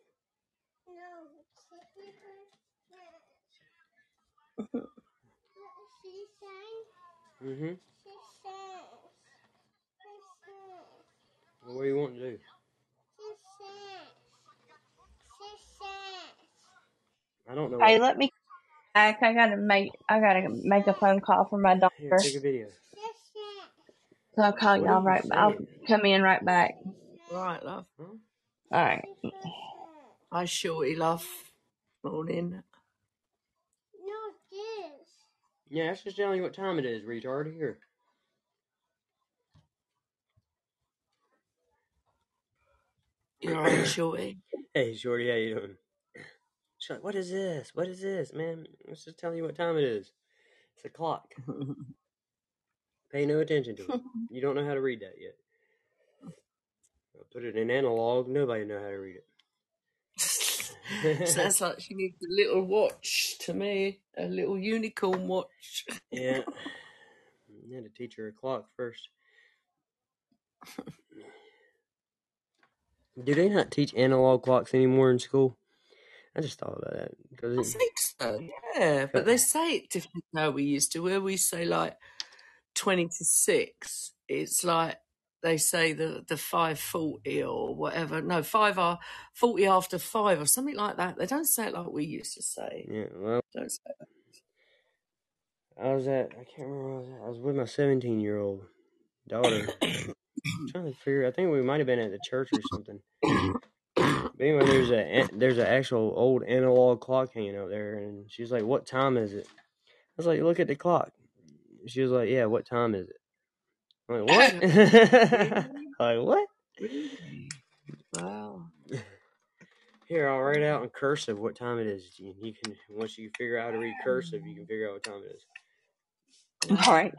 Mm-hmm. Well, what do you want to do? I don't know. Hey, What... let me back. I gotta make. I gotta make a phone call for my daughter. Here, take a video. So I'll call What y'all are you right. I'll saying? come in right back. Right, love. Huh? All right. Hi, Shorty, love. Morning. Yeah, that's just telling you what time it is, retard. Here. You alright, Shorty? Hey, Shorty, how you doing? She's like, what is this? What is this, man? It's just telling you what time it is. It's a clock. Pay no attention to it. You don't know how to read that yet. I'll put it in analog. Nobody know how to read it. Sounds like she needs a little watch to me. A little unicorn watch. Yeah. You had to teach her a clock first. Do they not teach analog clocks anymore in school? I just thought about that. Cause I it, think so, yeah. But they say it different than how we used to, where we say like twenty to six. It's like they say the, the five forty or whatever. No, five are forty after five or something like that. They don't say it like we used to say. yeah, well, Don't say that. I was at, I can't remember where I was at. I was with my seventeen-year-old daughter. I'm trying to figure, I think we might have been at the church or something. But anyway, there's a there's an actual old analog clock hanging out there, and she's like, "What time is it?" I was like, "Look at the clock." She was like, "Yeah, what time is it?" I'm like, "What?" Like, what? Really? Wow. Here, I'll write out in cursive what time it is. You, you can once you figure out how to read cursive, you can figure out what time it is. All right.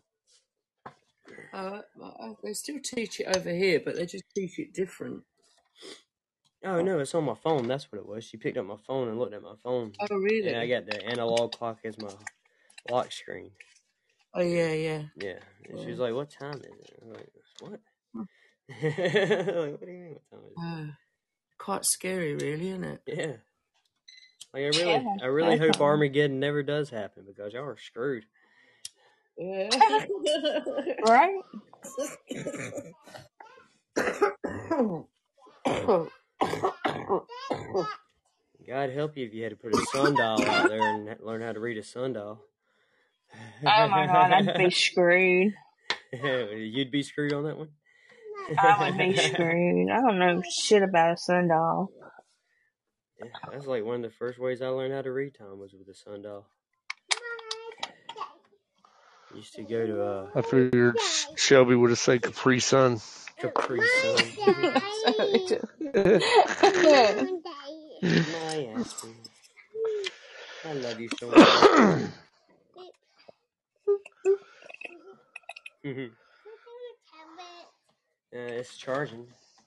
Uh, they still teach it over here, but they just teach it different. Oh no, it's on my phone. That's what it was. She picked up my phone and looked at my phone. Oh, really? And I got the analog clock as my lock screen. Oh, yeah, yeah. Yeah. And Yeah. she was like, "What time is it?" I was like, "What?" Like, what do you mean, what time is it? Oh, quite scary, really, isn't it? Yeah. Like I really, Yeah, I really hope definitely. Armageddon never does happen because y'all are screwed. Yeah. Right? God help you if you had to put a sundial out there and learn how to read a sundial. Oh my God, I'd be screwed. You'd be screwed on that one? I would be screwed. I don't know shit about a sundial. Yeah, that's like one of the first ways I learned how to read, Tom, was with a sundial. Used to go to uh, I figured Shelby would have said Capri Sun. Capri Sun. My aspirin. I love you so much. Mm-hmm. Uh, it's charging.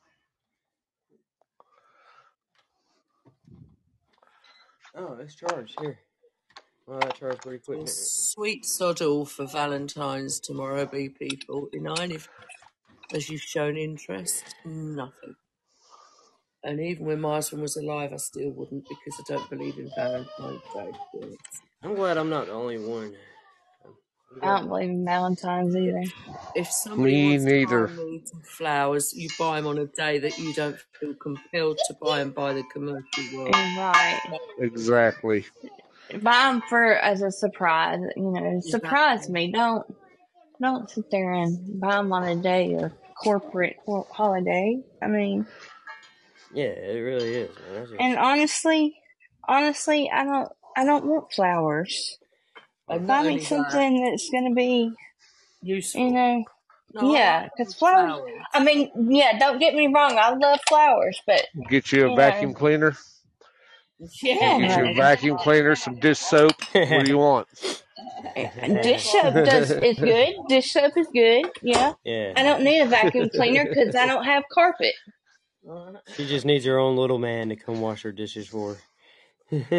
Oh, it's charged here. Well, that charged pretty quick. Well, didn't it? sweet sod all for Valentine's tomorrow, be P forty-nine. If, as you've shown interest, nothing. And even when my husband was alive, I still wouldn't because I don't believe in Valentine's Day. I'm glad I'm not the only one. I don't believe in Valentine's either. If somebody Me wants neither. to buy me some flowers, you buy them on a day that you don't feel compelled to buy them by the commercial world. Right. Exactly. Buy them for as a surprise. You know, surprise Exactly. me. Don't don't sit there and buy them on a day of corporate holiday. I mean, Yeah, it really is, man. That's just... And honestly, honestly, I don't I don't want flowers. And Buy not me only that, something that's going to be, useful. you know, No, I yeah, like because flowers. flowers. I mean, yeah, don't get me wrong. I love flowers, but Get you a you vacuum know, cleaner. Yeah. Get you a no. vacuum cleaner, some dish soap. What do you want? Dish soap does is good. Dish soap is good. Yeah. Yeah. I don't need a vacuum cleaner because I don't have carpet. She just needs her own little man to come wash her dishes for her. I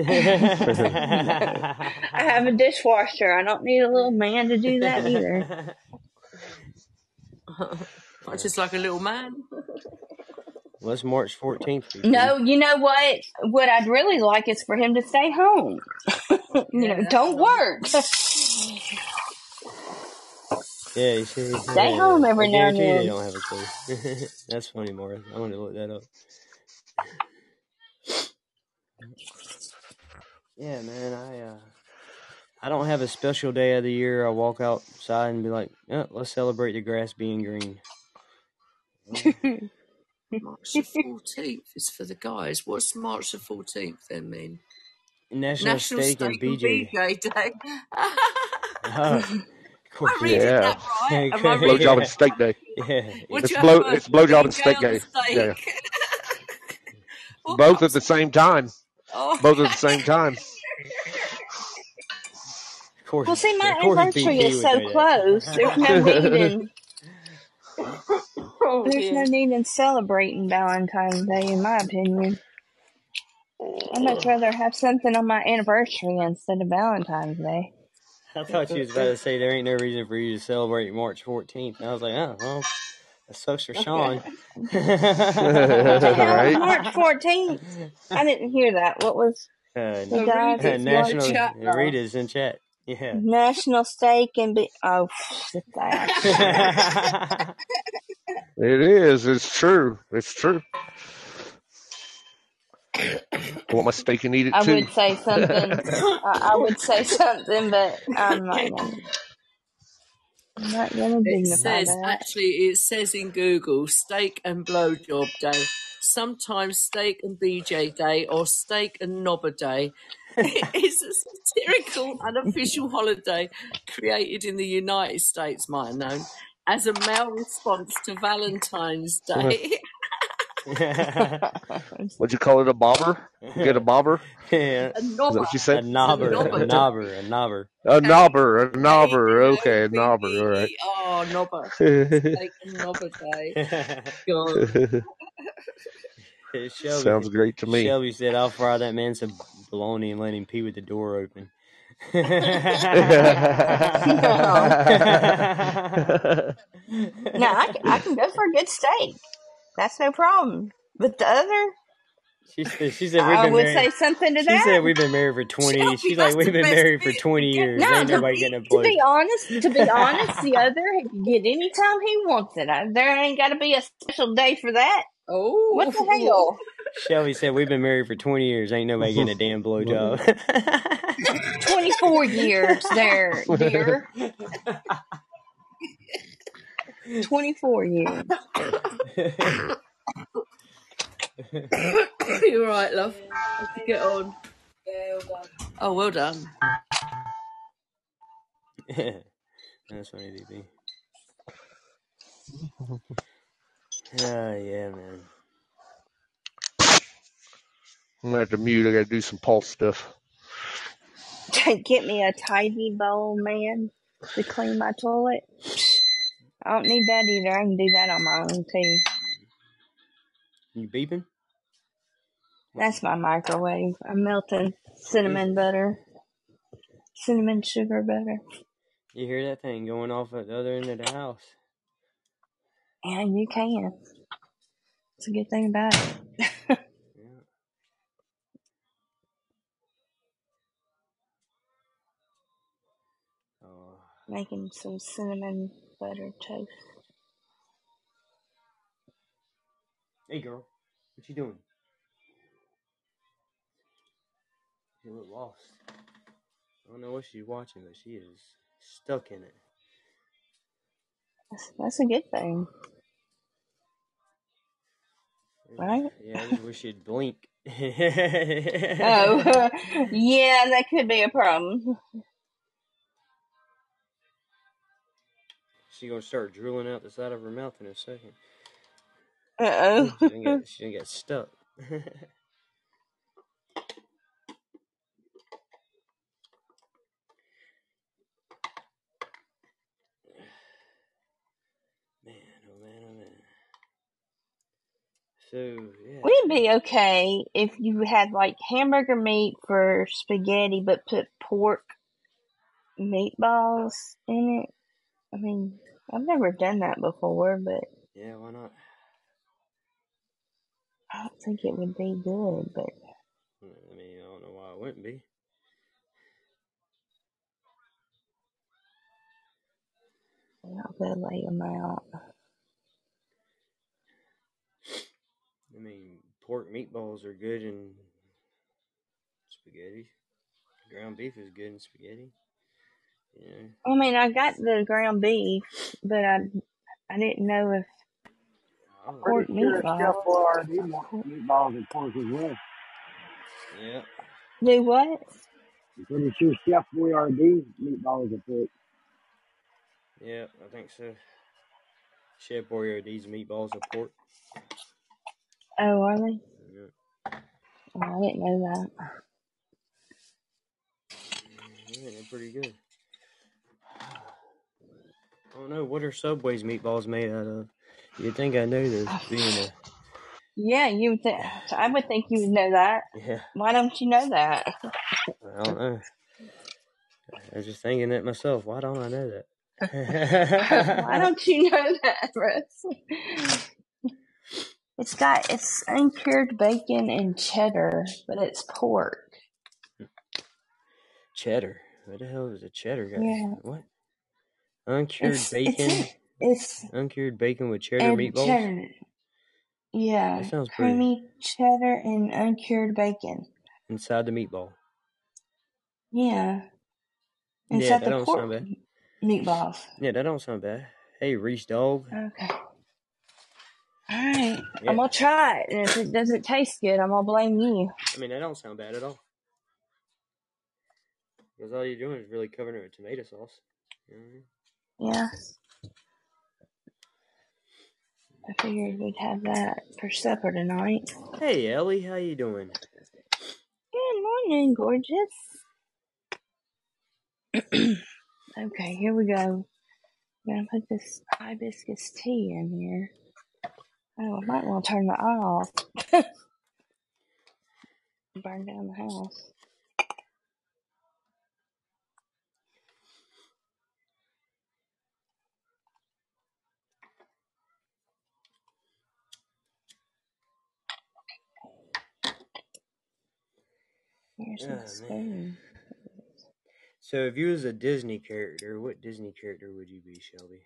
have a dishwasher. I don't need a little man to do that either. Not just like a little man. Well, it's March fourteenth. No, you know what? What I'd really like is for him to stay home. you Yeah, know, don't work. Yeah, you see. Stay Yeah, home every I now and guarantee you they then. don't have a clue. That's funny, Morris. I'm going to look that up. Yeah, man, I uh, I don't have a special day of the year. I walk outside and be like, oh, let's celebrate the grass being green. March the fourteenth is for the guys. What's March the fourteenth then mean? National, National Steak, Steak and B J, and B J Day. Oh, of course. I read Yeah. that right. Am I reading Blowjob it? and steak day. Yeah. Would It's you blow. have a It's blowjob and B J steak on the day. steak? Yeah. What Both cups at the same time. Oh. Both at the same time. Of course. Well, see, my of course anniversary B P is would so do that. close. There's no need in Oh, there's no dear. need in celebrating Valentine's Day, in my opinion. I'd much rather have something on my anniversary instead of Valentine's Day. I thought you was about to say there ain't no reason for you to celebrate March fourteenth. And I was like, oh, well, that sucks for Sean. What the hell Right. is March fourteenth? I didn't hear that. What was Uh, the Oh, guys? read it. National Chat, love. Rita's in chat. Yeah. National Steak and Be Oh, shit that. It is. It's true. It's true. I want my steak and eat it I too. would say something. I, I would say something, but I'm not gonna. I'm not gonna It dignify says, that. actually, it says in Google, steak and blowjob day, sometimes steak and B J day, or steak and knobber day. It's a satirical, unofficial holiday created in the United States, might have known, as a male response to Valentine's Day. What'd you call it? A bobber? You get a bobber? Yeah. A Is that knobber. what you A said? knobber. It's a A knobber. knobber. A knobber. A knobber. A knobber. K Okay, a N O B B knobber. All right. E R, knobber. Steak and knobber day. God. Shelby, Sounds great to me. Shelby said, I'll fry that man some bologna and let him pee with the door open. No, I, can- I can go for a good steak. That's no problem. But the other, She said, she said we've I been would married. say something to She that. said we've been married for twenty. Shelby, She's that's like we've the been best married for bit. twenty You years. get No, Ain't to nobody be, getting a to blow. be honest, to be honest, the other he can get any time he wants it. I, there ain't got to be a special day for that. Oh. What the hell? Shelby said we've been married for twenty years. Ain't nobody getting a damn blowjob. twenty-four years there, dear. twenty-four years. You're right, love. Have to get on. Yeah, well done. Oh, well done. That's funny, B B. Oh, yeah, man. I'm gonna have to mute. I gotta do some pulse stuff. Get me a tidy bowl, man, to clean my toilet. I don't need that either. I can do that on my own too. You beeping? That's my microwave. I'm melting cinnamon butter. Cinnamon sugar butter. You hear that thing going off at the other end of the house? Yeah, you can. It's a good thing about it. Yeah. Oh. Making some cinnamon butter toast. Hey, girl. What you doing? You look lost. I don't know what she's watching, but she is stuck in it. That's, that's a good thing. Right? Yeah, I just wish she'd blink. Oh, yeah, that could be a problem. She's gonna start drooling out the side of her mouth in a second. Uh-oh. She didn't get, she didn't get stuck. Man, oh man, oh man. So, yeah. We'd be okay if you had like hamburger meat for spaghetti but put pork meatballs in it. I mean, I've never done that before, but Yeah, why not? I don't think it would be good, but I mean, I don't know why it wouldn't be. I'll go lay them out. I mean, pork meatballs are good in spaghetti. Ground beef is good in spaghetti. Yeah. I mean, I got the ground beef, but I I didn't know if Oh. pork Pretty sure meatballs. Chef Boyardee meatballs and pork as well. Yeah. Do what? I'm pretty sure Chef Boyardee meatballs are pork. Yeah, I think so. Chef Boyardee's meatballs are pork. Oh, are they? Yeah. Oh, I didn't know that. Yeah, they're pretty good. I don't know, what are Subway's meatballs made out of? You'd think I know this, being a... Yeah, you would think. I would think you would know that. Yeah. Why don't you know that? I don't know. I was just thinking that myself. Why don't I know that? Why don't you know that, Russ? It's got, it's uncured bacon and cheddar, but it's pork. Cheddar? What the hell is a cheddar guy? Yeah. What? Uncured It's, bacon? it's, it's Uncured bacon with cheddar and meatballs? cheddar. Yeah, That sounds pretty. creamy cheddar and uncured bacon. Inside the meatball. Yeah. Yeah, Inside that the don't pork sound bad. meatballs. Yeah, that don't sound bad. Hey, Reese Dog. Okay. All right. Yeah. I'm going to try it. And if it doesn't taste good, I'm going to blame you. I mean, that don't sound bad at all. Because all you're doing is really covering it with tomato sauce. You know what I mean? Yeah. I figured we'd have that for supper tonight. Hey, Ellie, how you doing? Good morning, gorgeous. Okay, here we go. I'm going to put this hibiscus tea in here. Oh, I might want to turn the eye off. Burn down the house. Here's Oh, my spoon. So, if you was a Disney character, what Disney character would you be, Shelby?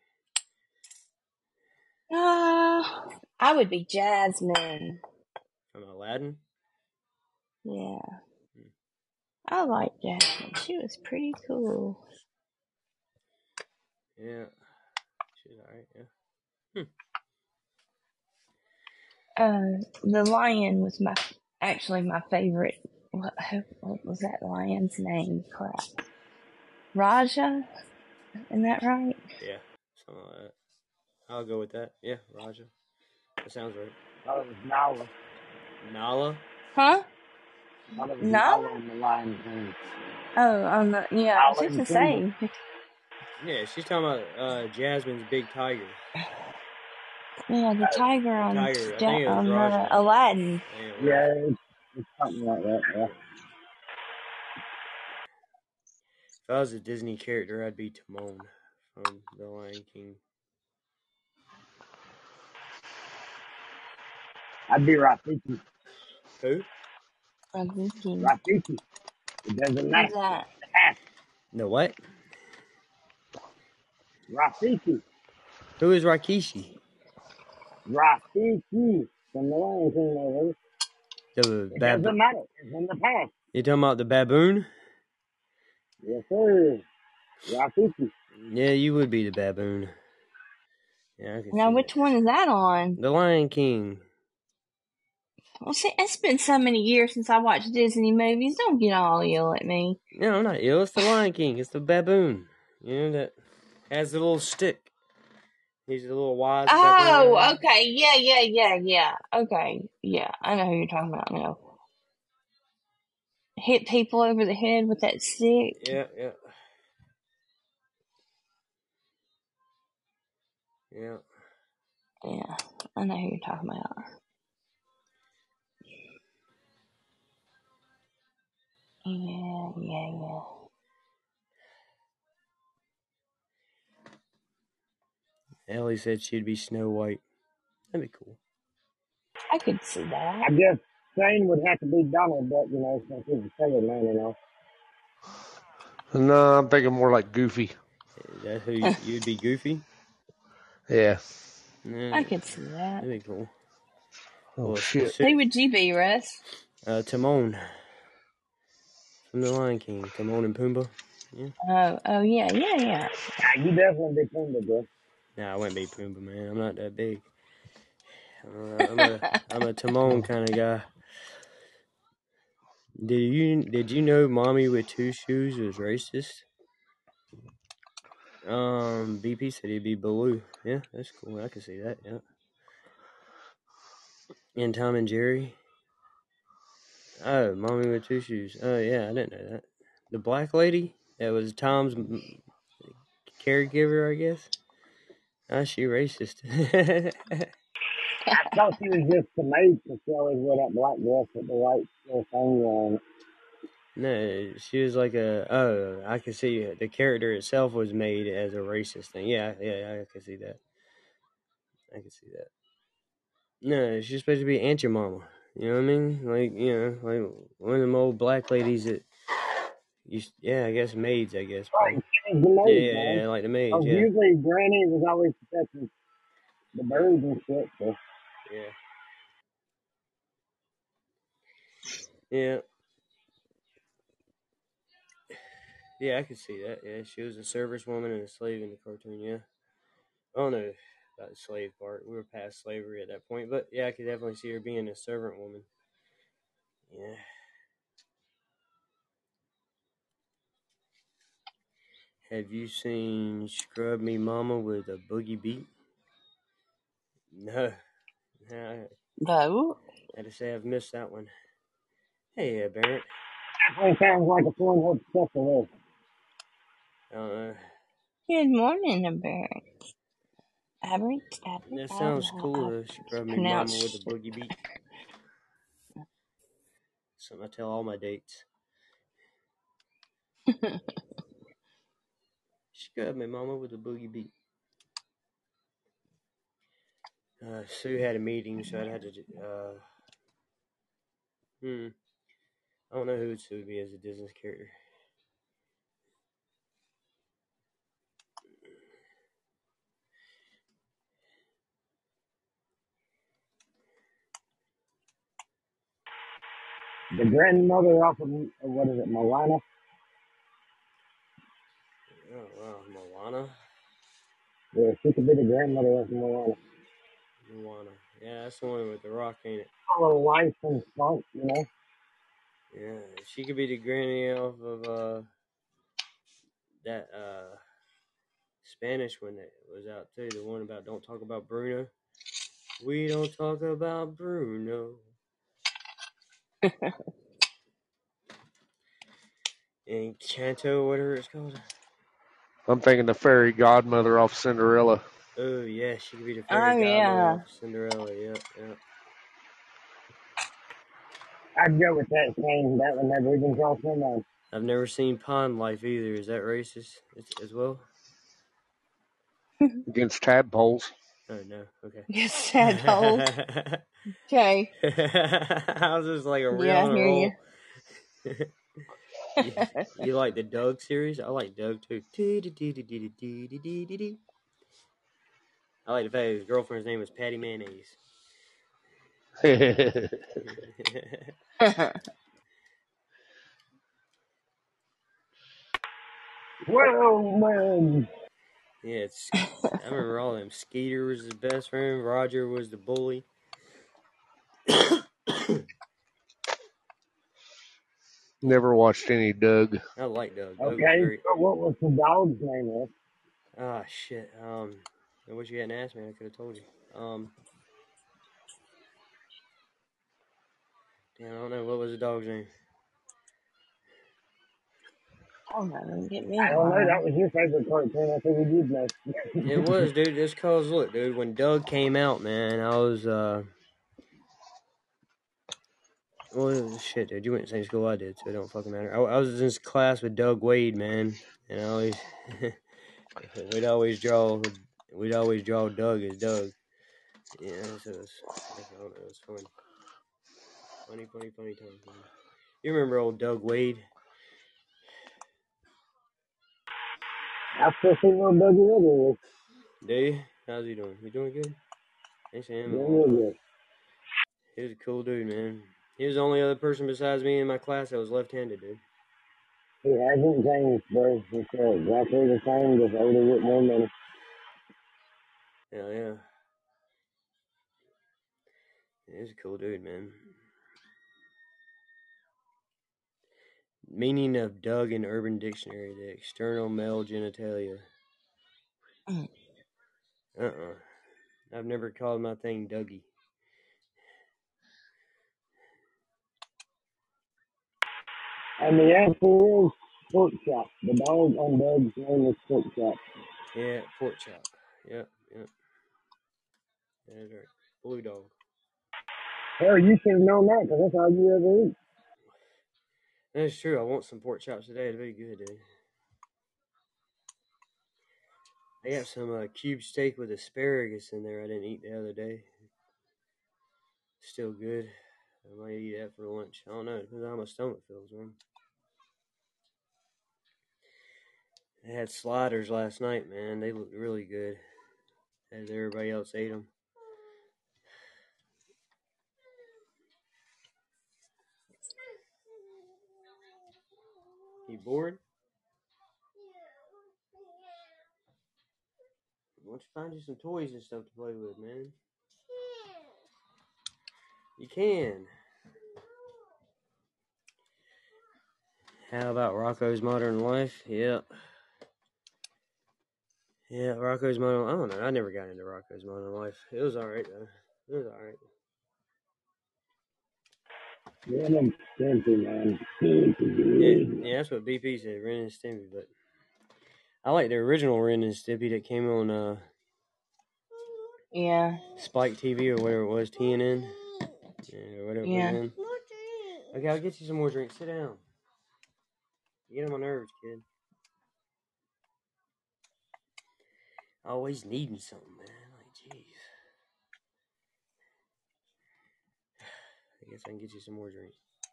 Ah, uh, I would be Jasmine. From Aladdin? Yeah. Hmm. I like Jasmine. She was pretty cool. Yeah. She's alright, yeah. Hmm. Uh, the lion was my, actually my favorite. What, what was that lion's name? Crap. Raja? Isn't that right? Yeah, something like that. I'll go with that. Yeah, Raja. That sounds right. Oh, it was Nala. Huh? Nala? Nala? Nala on the lion's name. Oh, on the, yeah, Nala I was just the same. Yeah, she's talking about uh, Jasmine's big tiger. Yeah, the tiger The on tiger. I Ja- think it was on uh, Rajma. Aladdin. I think it was. Yeah, it's, it's something like that. Yeah. If I was a Disney character, I'd be Timon from The Lion King. I'd be Rafiki. Who? Rafiki. Rafiki. It doesn't matter. Who's that? The what? Rafiki. Who is Rakishi? Rafiki. From the Lion King movie. The It bab- doesn't matter. It's in the past. You talking about the baboon? Yes, sir. Rafiki. Yeah, you would be the baboon. Yeah, I can Now, see which that. one is that on? The Lion King. Well, see, it's been so many years since I watched Disney movies. Don't get all ill at me. No, I'm not ill. It's the Lion King. It's the baboon. You know, that has the little stick. He's a little wise baboon. Oh, okay. Yeah, yeah, yeah, yeah. Okay. Yeah, I know who you're talking about now. Hit people over the head with that stick. Yeah, yeah. Yeah. Yeah, I know who you're talking about. Yeah, yeah, yeah. Ellie said she'd be Snow White. That'd be cool. I could see that. I guess Shane would have to be Donald Duck, you know, since he's a sailor man, you know. No, I'm thinking more like Goofy. Is that who you, you'd be? Goofy? Yeah. Yeah, I could see that. that'd be cool. Oh, Well, shit. so- Who would you be, Russ? uh, Timon from The Lion King. Timon and Pumbaa. Yeah. Oh, oh yeah, yeah, yeah. Yeah, you definitely be Pumbaa, bro. Nah, I wouldn't be Pumbaa, man. I'm not that big. Uh, I'm a I'm a Timon kind of guy. Did you did you know Mommy with Two Shoes was racist? Um, B P said he'd be Baloo. Yeah, that's cool. I can see that. Yeah. And Tom and Jerry. Oh, Mommy with Two Shoes. Oh yeah, I didn't know that. The black lady that was Tom's caregiver, I guess. Ah, she racist. I thought she was just the maid because she always wore that black dress with the white little thing on. No, she was like a. Oh, I can see the character itself was made as a racist thing. Yeah, yeah, I can see that. I can see that. No, she's supposed to be Aunt your mama. You know what I mean? Like, you know, like one of them old black ladies that. You, yeah, I guess maids. I guess. Right, she was the maid, Yeah, man. yeah, like the maids. Because Yeah, usually Granny was always protecting the birds and shit, so. yeah, yeah. Yeah, I could see that. Yeah, she was a service woman and a slave in the cartoon. Yeah, I don't know about the slave part. We were past slavery at that point, but yeah, I could definitely see her being a servant woman. Yeah. Have you seen Scrub Me Mama with a Boogie Beat? No. No, No. I had to say I've missed that one. Hey, uh, Barrett. Definitely sounds like a fun hood stuff to live. I don't know. Good morning, Barrett. Aberrant, Aberrant. That sounds cool, though. Scrub Me Mama with a Boogie Beat. Something I tell all my dates. Scrub Me Mama with a Boogie Beat. Uh, Sue had a meeting, so I'd have to. Uh, hmm. I don't know who Sue would be as a Disney character. The grandmother off of, what is it, Moana? Oh, wow. Moana? Yeah, she could be the grandmother of Moana. Moana. Yeah, that's the one with the rock, ain't it? A little life and funk, you know? Yeah, she could be the granny off of uh, that uh, Spanish one that was out too. The one about don't talk about Bruno. We don't talk about Bruno. Encanto, whatever it's called. I'm thinking the fairy godmother off Cinderella. Oh yeah, she could be the Oh, fairy godmother yeah. off Cinderella. Yep, yep. I'd go with that same. That one never even crossed my mind. I've never seen Pond Life either. Is that racist as, as well? Against tadpoles. Oh no. Okay. Yes, tadpole. Okay. I was just like a real Yeah, I on a hear roll. you. you. You like the Doug series? I like Doug too. I like the fact his girlfriend's name was Patty Mayonnaise. Well, man. Yeah, it's. I remember all them. Skeeter was his best friend. Roger was the bully. Never watched any Doug. I like Doug. Doug was Okay, great. so what was the dog's name? Ah, shit. Um, I wish you hadn't asked me. I could have told you. Um, damn, I don't know. What was the dog's name? Oh, no, get me I don't know. one. That was your favorite cartoon. I think we did know. It was, dude. Just cause, look, dude, when Doug came out, man, I was, uh, well, shit, dude, you went to the same school I did, so it don't fucking matter. I, I was in this class with Doug Wade, man, and I always, we'd always draw, we'd always draw Doug as Doug. Yeah, so it was, I don't know, it was fun. Funny, funny, funny time. Man. You remember old Doug Wade? I still see little Dougie Little. Do you? How's he doing? He doing good? Ain't seen him in a Doing long real time. good. He was a cool dude, man. He was the only other person besides me in my class that was left-handed, dude. He hasn't changed, bro. He's uh, exactly the same, just older with more money. Yeah, yeah. He's a cool dude, man. Meaning of Doug in Urban Dictionary, the external male genitalia. Uh-uh. I've never called my thing Dougie. And the answer is Pork Chop. The dog on Doug's name is Pork Chop. Yeah, pork chop. Yep, yep. That's right. Blue dog. Hell, you should have known that because that's all you ever eat. That's true. I want some pork chops today. It'd be good, dude. I got some uh, cube steak with asparagus in there I didn't eat the other day. Still good. I might eat that for lunch. I don't know. Depends on how my stomach feels, man. I had sliders last night, man. They looked really good as everybody else ate them. You bored? Why don't you find you some toys and stuff to play with, man? You can. How about Rocco's Modern Life? Yep. Yeah, Rocco's Modern Life. I don't know. I never got into Rocco's Modern Life. It was alright, though. It was alright. Yeah, I'm Stimpy, man. Yeah, yeah, that's what B P said, Ren and Stimpy, but I like the original Ren and Stimpy that came on uh, Yeah. Spike T V or whatever it was, T N N. Yeah, whatever Yeah. it was then. Okay, I'll get you some more drinks. Sit down. You get on my nerves, kid. Always needing something, man. Like, jeez. I guess I can get you some more drinks.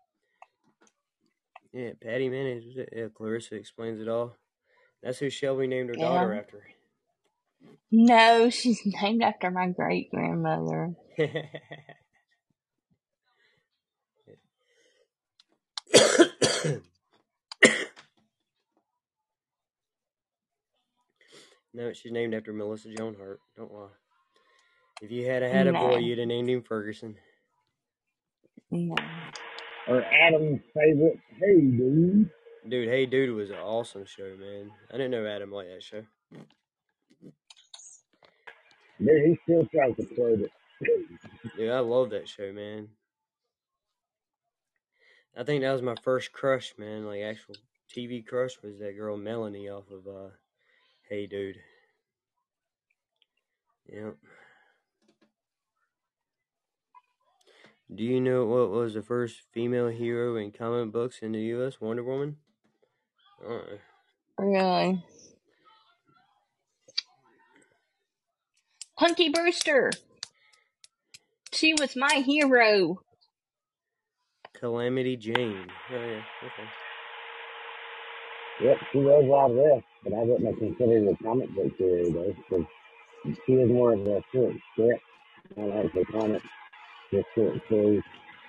Yeah, Patty Mayonnaise. Yeah, Clarissa explains it all. That's who Shelby named her Yeah. daughter after. No, she's named after my great grandmother. No, she's named after Melissa Joan Hart. Don't lie. If you had a had a No. boy, you'd have named him Ferguson. No. Or Adam's favorite. Hey, dude. Dude, Hey Dude was an awesome show, man. I didn't know Adam liked that show. Dude, he still tries to quote it. Dude, I love that show, man. I think that was my first crush, man. Like, actual T V crush was that girl Melanie off of uh, Hey, dude. Yep. Do you know what was the first female hero in comic books in the U S? Wonder Woman? Uh, Really? Punky Brewster. She was my hero. Calamity Jane. Oh, yeah. Okay. Yep, she was out of this, but I wouldn't have considered a comic book hero though, because she is more of a short script. I like the comic, just short stories.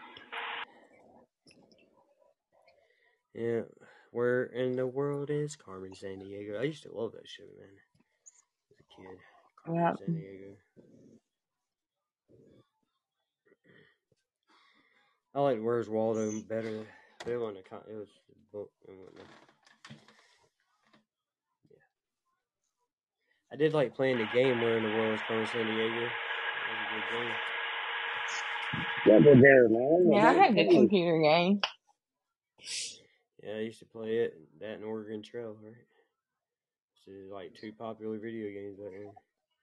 Yeah. Where in the world is Carmen Sandiego? I used to love that show, man. As a kid. Carmen Yep. Sandiego. I liked Where's Waldo better. But it wasn't a con- it was a book and whatnot. Yeah. I did like playing the game Where in the World is Carmen Sandiego. That was a good game. Yeah, but there, man. Yeah, I Don't had the tell me. computer game. Yeah, I used to play it, that and Oregon Trail, right? So like two popular video games back then.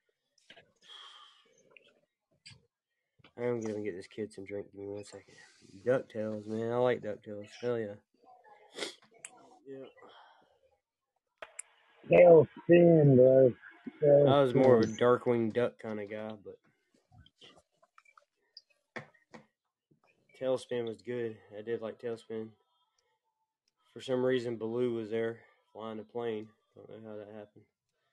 I'm gonna get this kid some drink. Give me one second. DuckTales, man. I like DuckTales. Hell yeah. Yeah. Tailspin, bro. I was more of a Tailspin. Darkwing Duck kind of guy, but Tailspin was good. I did like Tailspin. For some reason, Baloo was there flying a plane. Don't know how that happened.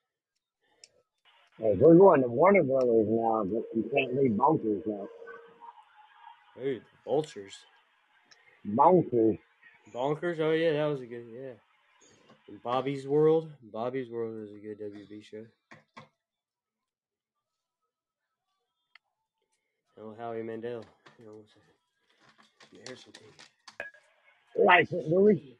Hey, we're going to Warner Brothers now, but you can't leave Bonkers now. Ooh, the Vultures. Bonkers. Bonkers? Oh, yeah, that was a good, yeah. And Bobby's World. Bobby's World was a good W B show. Oh, Howie Mandel. You know, here's some tea. License, Louis.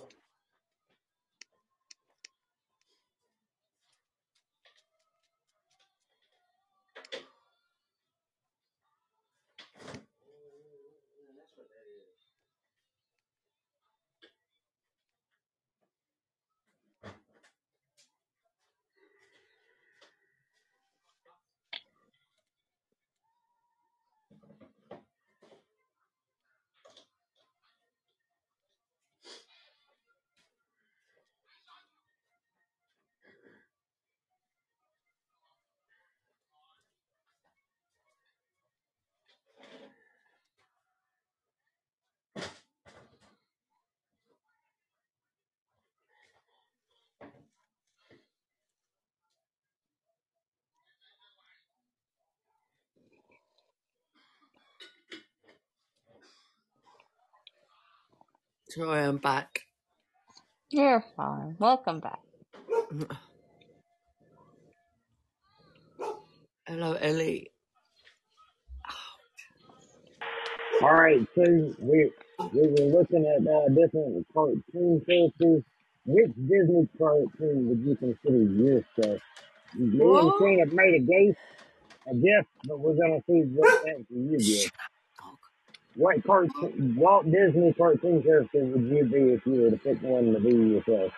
Sorry, I'm back. You're fine. Welcome back. Hello, Ellie. All right, so we we were looking at uh, different cartoon characters. Which Disney cartoon would you consider your stuff? Me and What? Shane have made a guess, a guess, but we're gonna see what answer you give. What cartoon, Walt Disney cartoon character would you be if you were to pick one to be yourself?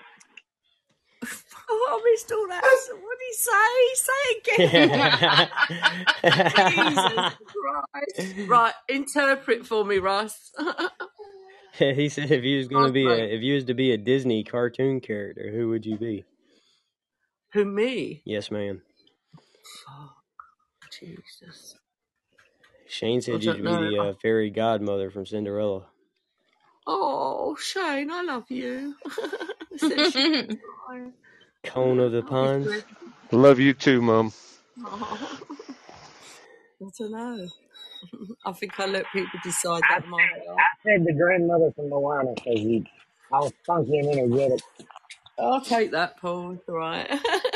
Oh, I missed all that. What did he say? Say again. Jesus Christ. Right, interpret for me, Russ. He said if you was gonna be a Okay. if you was to be a Disney cartoon character, who would you be? Who, me? Yes, ma'am. Oh, Jesus. Shane I said you'd don't be know. the uh, fairy godmother from Cinderella. Oh, Shane, I love you. Said she- Cone of the I'll be Pines. good. Love you too, Mum. Oh. I don't know. I think I let people decide I that in my head. said, I said the grandmother from Moana because you all funky and energetic. I'll take that, Paul. It's all right.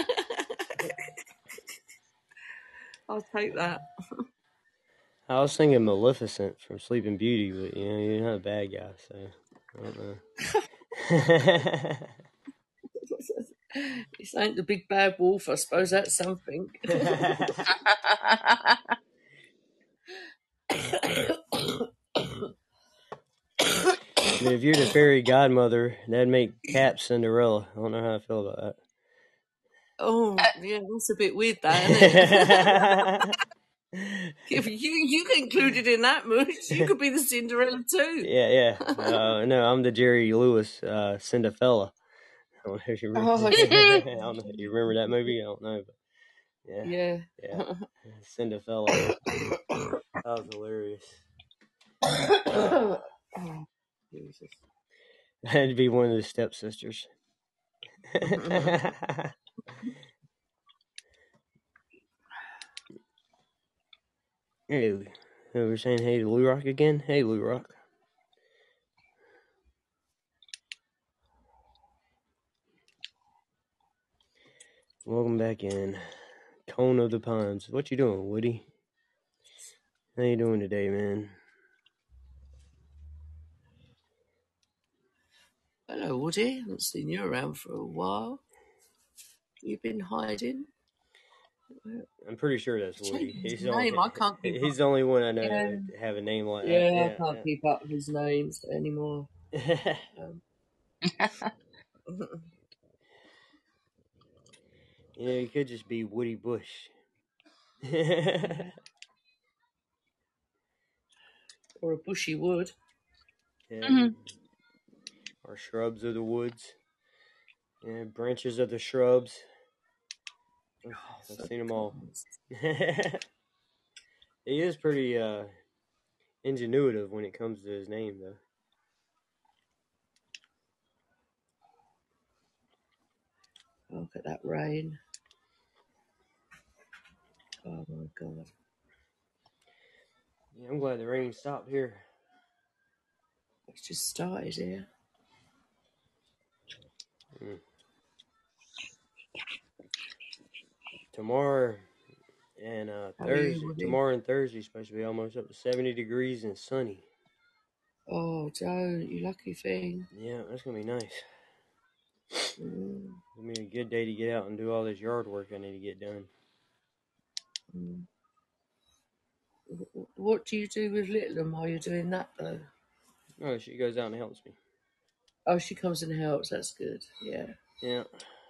I'll take that. I was thinking Maleficent from Sleeping Beauty, but you know you're not a bad guy, so I don't know. This ain't the big bad wolf. I suppose that's something. But if you're the fairy godmother, that'd make Cap Cinderella. I don't know how I feel about that. Oh, yeah, that's a bit weird, that, isn't it? If you you get included in that mooch, you could be the Cinderella too. Yeah, yeah. Uh, no, I'm the Jerry Lewis uh, Cinderfella. I don't know if you remember. Oh, I don't know. You remember that movie? I don't know, but yeah, yeah. yeah. Cinderella. That was hilarious. Oh, Jesus. That'd be one of the stepsisters. Hey, we're saying hey to Lou Rock again. Hey, Lou Rock. Welcome back in. Cone of the Pines. What you doing, Woody? How you doing today, man? Hello, Woody. I haven't seen you around for a while. You've been hiding. I'm pretty sure that's Woody. His He's, name. only, I can't keep he's up. the only one I know Yeah. that have a name like Yeah, that. I Yeah, can't keep up with his names anymore. yeah. Um, You know, he could just be Woody Bush. or a bushy wood. Yeah. Mhm. Or shrubs of the woods. Yeah, branches of the shrubs. I've, I've seen them all. He is pretty uh, ingenuitive when it comes to his name, though. Look at that rain. Oh my God. Yeah, I'm glad the rain stopped here. It's just started here. Mm. Tomorrow and uh, How are you, Thursday. Woody? Tomorrow and Thursday is supposed to be almost up to seventy degrees and sunny. Oh, don't, you lucky thing. Yeah, that's gonna be nice. Mm. It's gonna be a good day to get out and do all this yard work I need to get done. Mm. What do you do with Littleham while you're doing that, though? Oh, she goes out and helps me. Oh, she comes and helps. That's good. Yeah. Yeah.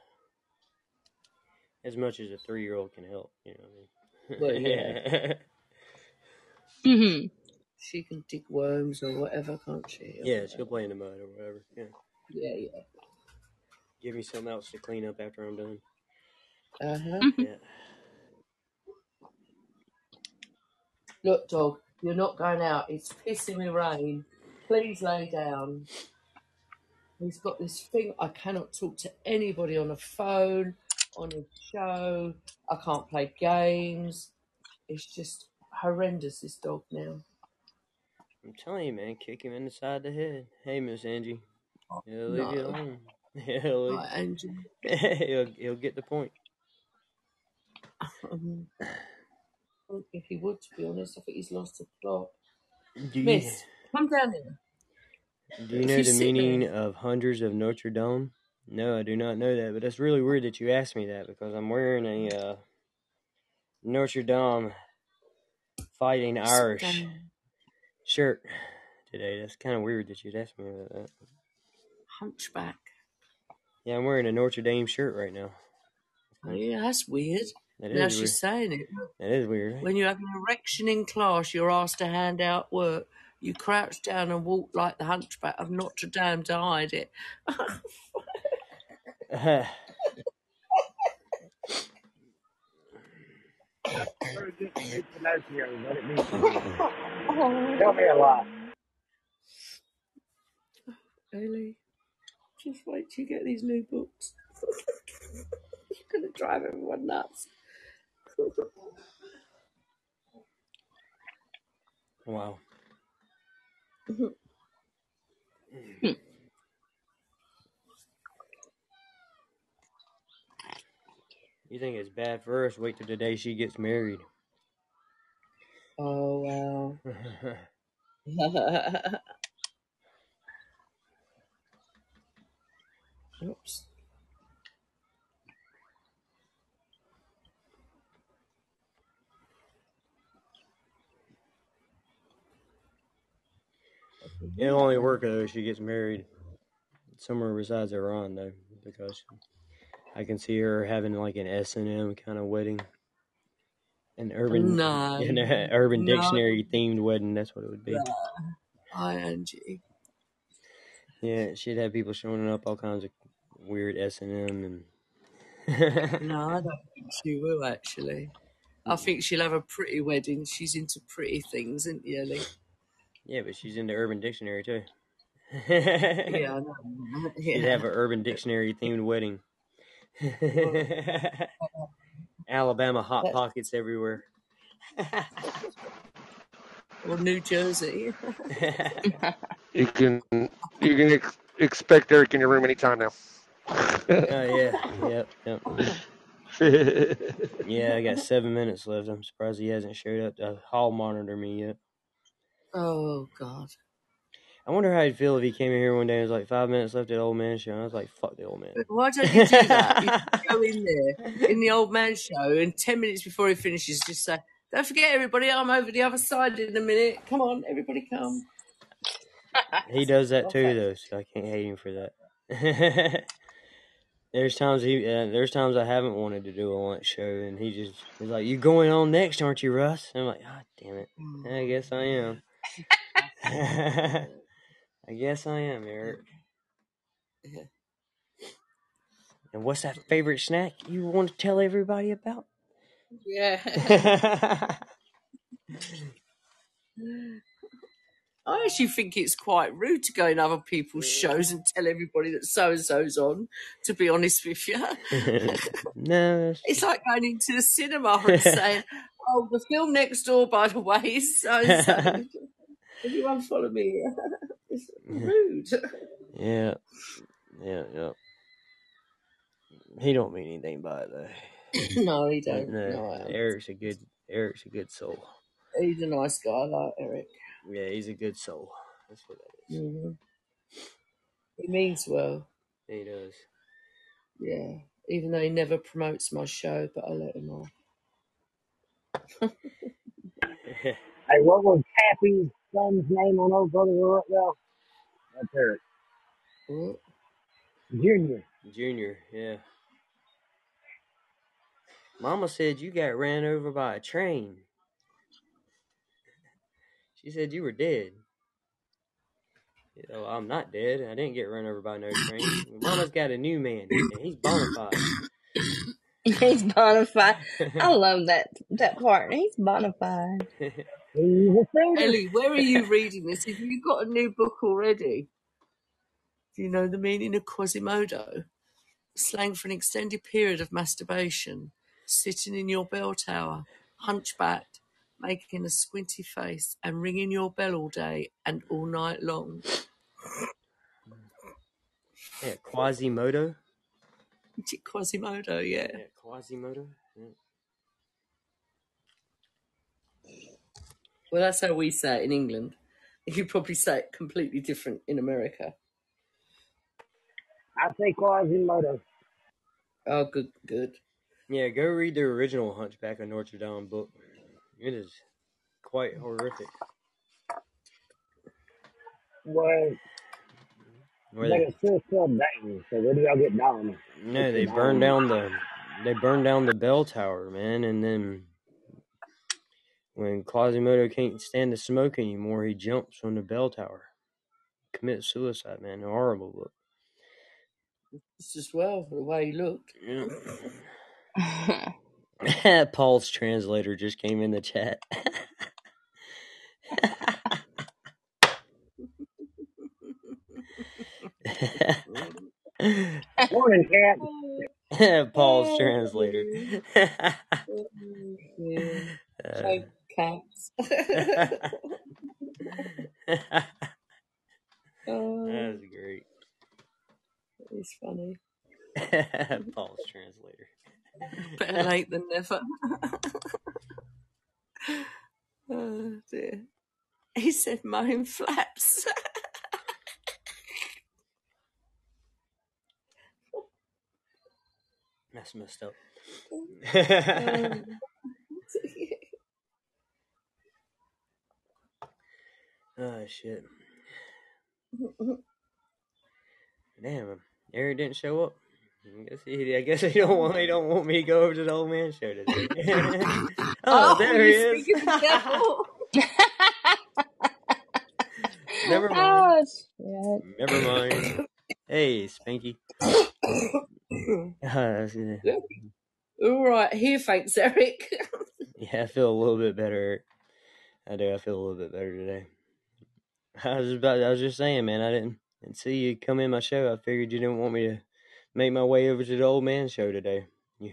As much as a three-year-old can help, you know what I mean? Well, yeah. Mhm. She can dig worms or whatever, can't she? Or Yeah, she'll play in the mud or whatever. Yeah. Yeah, yeah. Give me something else to clean up after I'm done. Uh huh. Yeah. Look, dog, you're not going out. It's pissing with rain. Please lay down. He's got this thing. I cannot talk to anybody on a phone, on a show. I can't play games. It's just horrendous, this dog now. I'm telling you, man, kick him in the side of the head. Hey, Miss Angie. He'll leave you No. alone. He'll, leave... Right, Angie. he'll, he'll get the point. Um, I don't think he would, to be honest. I think he's lost the plot. Do you, Miss, come down here. do you If know you the sit meaning there- of Hundreds of Notre Dame? No, I do not know that, but that's really weird that you asked me that because I'm wearing a uh, Notre Dame Fighting Sit Irish down. shirt today. That's kind of weird that you'd ask me about that. Hunchback. Yeah, I'm wearing a Notre Dame shirt right now. Oh, yeah, that's weird. That Now is she's weird. saying it. That is weird. Right? When you have an erection in class, you're asked to hand out work. You crouch down and walk like the hunchback of Notre Dame to hide it. Very good to Pinocchio, what it means to you. Tell me a lot. Ellie, just wait till you get these new books. You're going to drive everyone nuts. Wow. You think it's bad for us? Wait till the day she gets married. Oh, wow. Oops. It'll only work though if she gets married somewhere besides Iran, though, because I can see her having like an S and M kind of wedding, an urban, No, an uh, urban no, dictionary themed wedding. That's what it would be. no. Hi, Angie. Yeah, she'd have people showing up, all kinds of weird S and M and. No, I don't think she will actually. I think she'll have a pretty wedding. She's into pretty things, isn't she, Ellie? Yeah, but she's into Urban Dictionary too. Yeah, I know. She'd Yeah. have an Urban Dictionary themed wedding. Alabama Hot That's- Pockets everywhere. Or New Jersey. You can you can ex- expect Eric in your room anytime now. Oh yeah, yep, yep. Yeah, I got seven minutes left. I'm surprised he hasn't showed up to hall monitor me yet. Oh God. I wonder how he'd feel if he came in here one day and was like, five minutes left at Old Man Show. And I was like, fuck the Old Man. But why don't you do that? You just go in there in the Old Man Show, and ten minutes before he finishes, just say, "Don't forget, everybody, I'm over the other side in a minute. Come on, everybody, come." He does that too, Okay. though, so I can't hate him for that. There's times he, uh, there's times I haven't wanted to do a lunch show, and he just he's like, "You going on next, aren't you, Russ?" And I'm like, "Ah, damn it, I guess I am." I guess I am, Eric. Yeah. And what's that favorite snack you want to tell everybody about? Yeah. I actually think it's quite rude to go in other people's shows and tell everybody that so and so's on. To be honest with you, No, it's, it's like going into the cinema and saying, "Oh, the film next door, by the way, is so and so. Everyone follow me." It's rude. yeah, yeah, yeah. He don't mean anything by it though. No, he don't. No, No, I am. Eric's a good, Eric's a good soul. He's a nice guy, I like Eric. Yeah, he's a good soul. That's what that is. Mm-hmm. He means well. He does. Yeah, even though he never promotes my show, but I let him off. Hey, what was Happy's son's name on those brothers right now? That's Eric. What? Junior. Junior, yeah. Mama said you got ran over by a train. She said you were dead. You know, I'm not dead. I didn't get run over by no train. Mama's got a new man, and he's bona fide. He's bona fide. I love that that part. He's bona fide. He's a singer. Ellie, where are you reading this? Have you got a new book already? Do you know the meaning of Quasimodo? Slang for an extended period of masturbation, sitting in your bell tower, hunchbacked, making a squinty face, and ringing your bell all day and all night long. Yeah, Quasimodo. Is it Quasimodo? Yeah. Yeah, Quasimodo. Yeah. Well, that's how we say it in England. You probably say it completely different in America. I say Quasimodo. Oh, good, good. Yeah, go read the original Hunchback of Notre Dame book. It is quite horrific. Well, Where but they, it's still still Dayton, so where do y'all get Dom? no, they burned down the they burned down the bell tower, man, and then when Quasimodo can't stand the smoke anymore, he jumps from the bell tower, commits suicide, man. A horrible book. Just as well, the way he looked. Yeah. Paul's translator just came in the chat. Morning, Cat. Paul's translator. uh, cats. Oh, that's great. It's funny. Paul's translator. Better late than never. Oh dear. He said mine flaps. That's messed up. um, Oh shit. Damn, Eric didn't show up. I guess he, I guess he don't want he don't want me to go over to the old man show today. oh, Oh, there he you're is. speaking the devil. Never mind. Oh, shit. Never mind. Hey, Spanky. Uh, All right, here, thanks, Eric. yeah, I feel a little bit better. I do. I feel a little bit better today. I was about. I was just saying, man. I didn't, didn't see you come in my show. I figured you didn't want me to make my way over to the old man show today.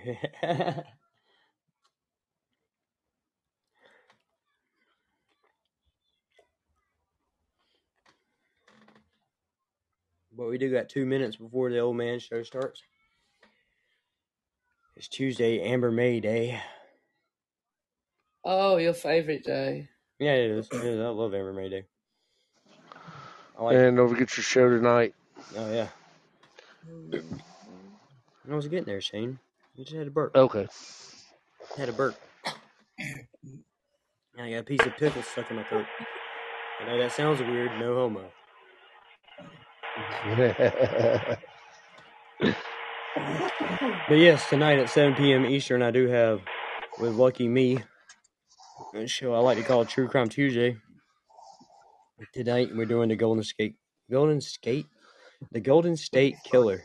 But we do got two minutes before the old man show starts. It's Tuesday, Amber May Day. Oh, your favourite day. Yeah, it is. It is. I love Amber May Day. I like And don't forget your show tonight. Oh, yeah. I was getting there, Shane. You just had a burp. Okay. Had a burp. And I got a piece of pickle stuck in my throat. I know that sounds weird. No homo. But yes, tonight at seven p.m. Eastern, I do have, with Lucky Me, a show I like to call True Crime Tuesday. Tonight, we're doing the Golden Skate. Golden Skate? The Golden State Killer.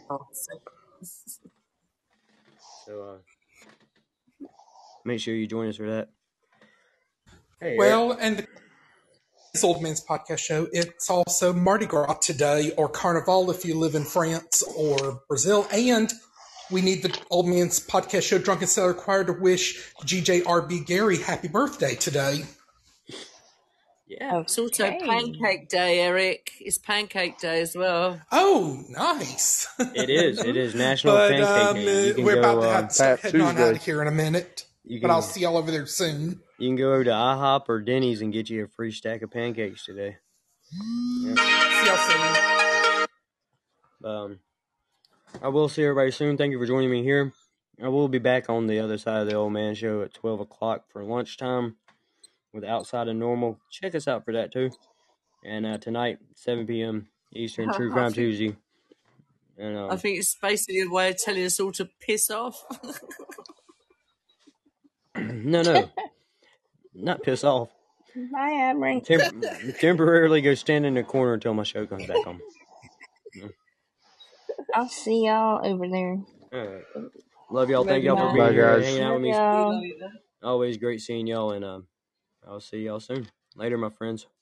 So, uh, make sure you join us for that. Hey, well, Eric. And the this Old Man's Podcast Show, it's also Mardi Gras today, or Carnival if you live in France or Brazil. And we need the Old Man's Podcast Show Drunken Sailor Choir to wish G J R B Gary happy birthday today. Yeah. It's also Pancake Day, Eric. It's Pancake Day as well. Oh, nice. It is. It is National but, Pancake um, Day. You can we're go, about to um, have to start heading on out of here in a minute. You but can- I'll see y'all over there soon. You can go over to IHOP or Denny's and get you a free stack of pancakes today. Yep. See y'all soon. Um, I will see everybody soon. Thank you for joining me here. I will be back on the other side of the Old Man Show at twelve o'clock for lunchtime with Outside of Normal. Check us out for that, too. And uh, tonight, seven p.m. Eastern, True Crime Tuesday. And, um, I think it's basically a way of telling us all to piss off. no, no. Not piss off. Bye, Amory. Tem- temporarily go stand in the corner until my show comes back on. I'll see y'all over there. All right. Love y'all. Thank y'all for Bye. being Bye, here, guys. hanging out with me. Y'all. Always great seeing y'all, and um, I'll see y'all soon. Later, my friends.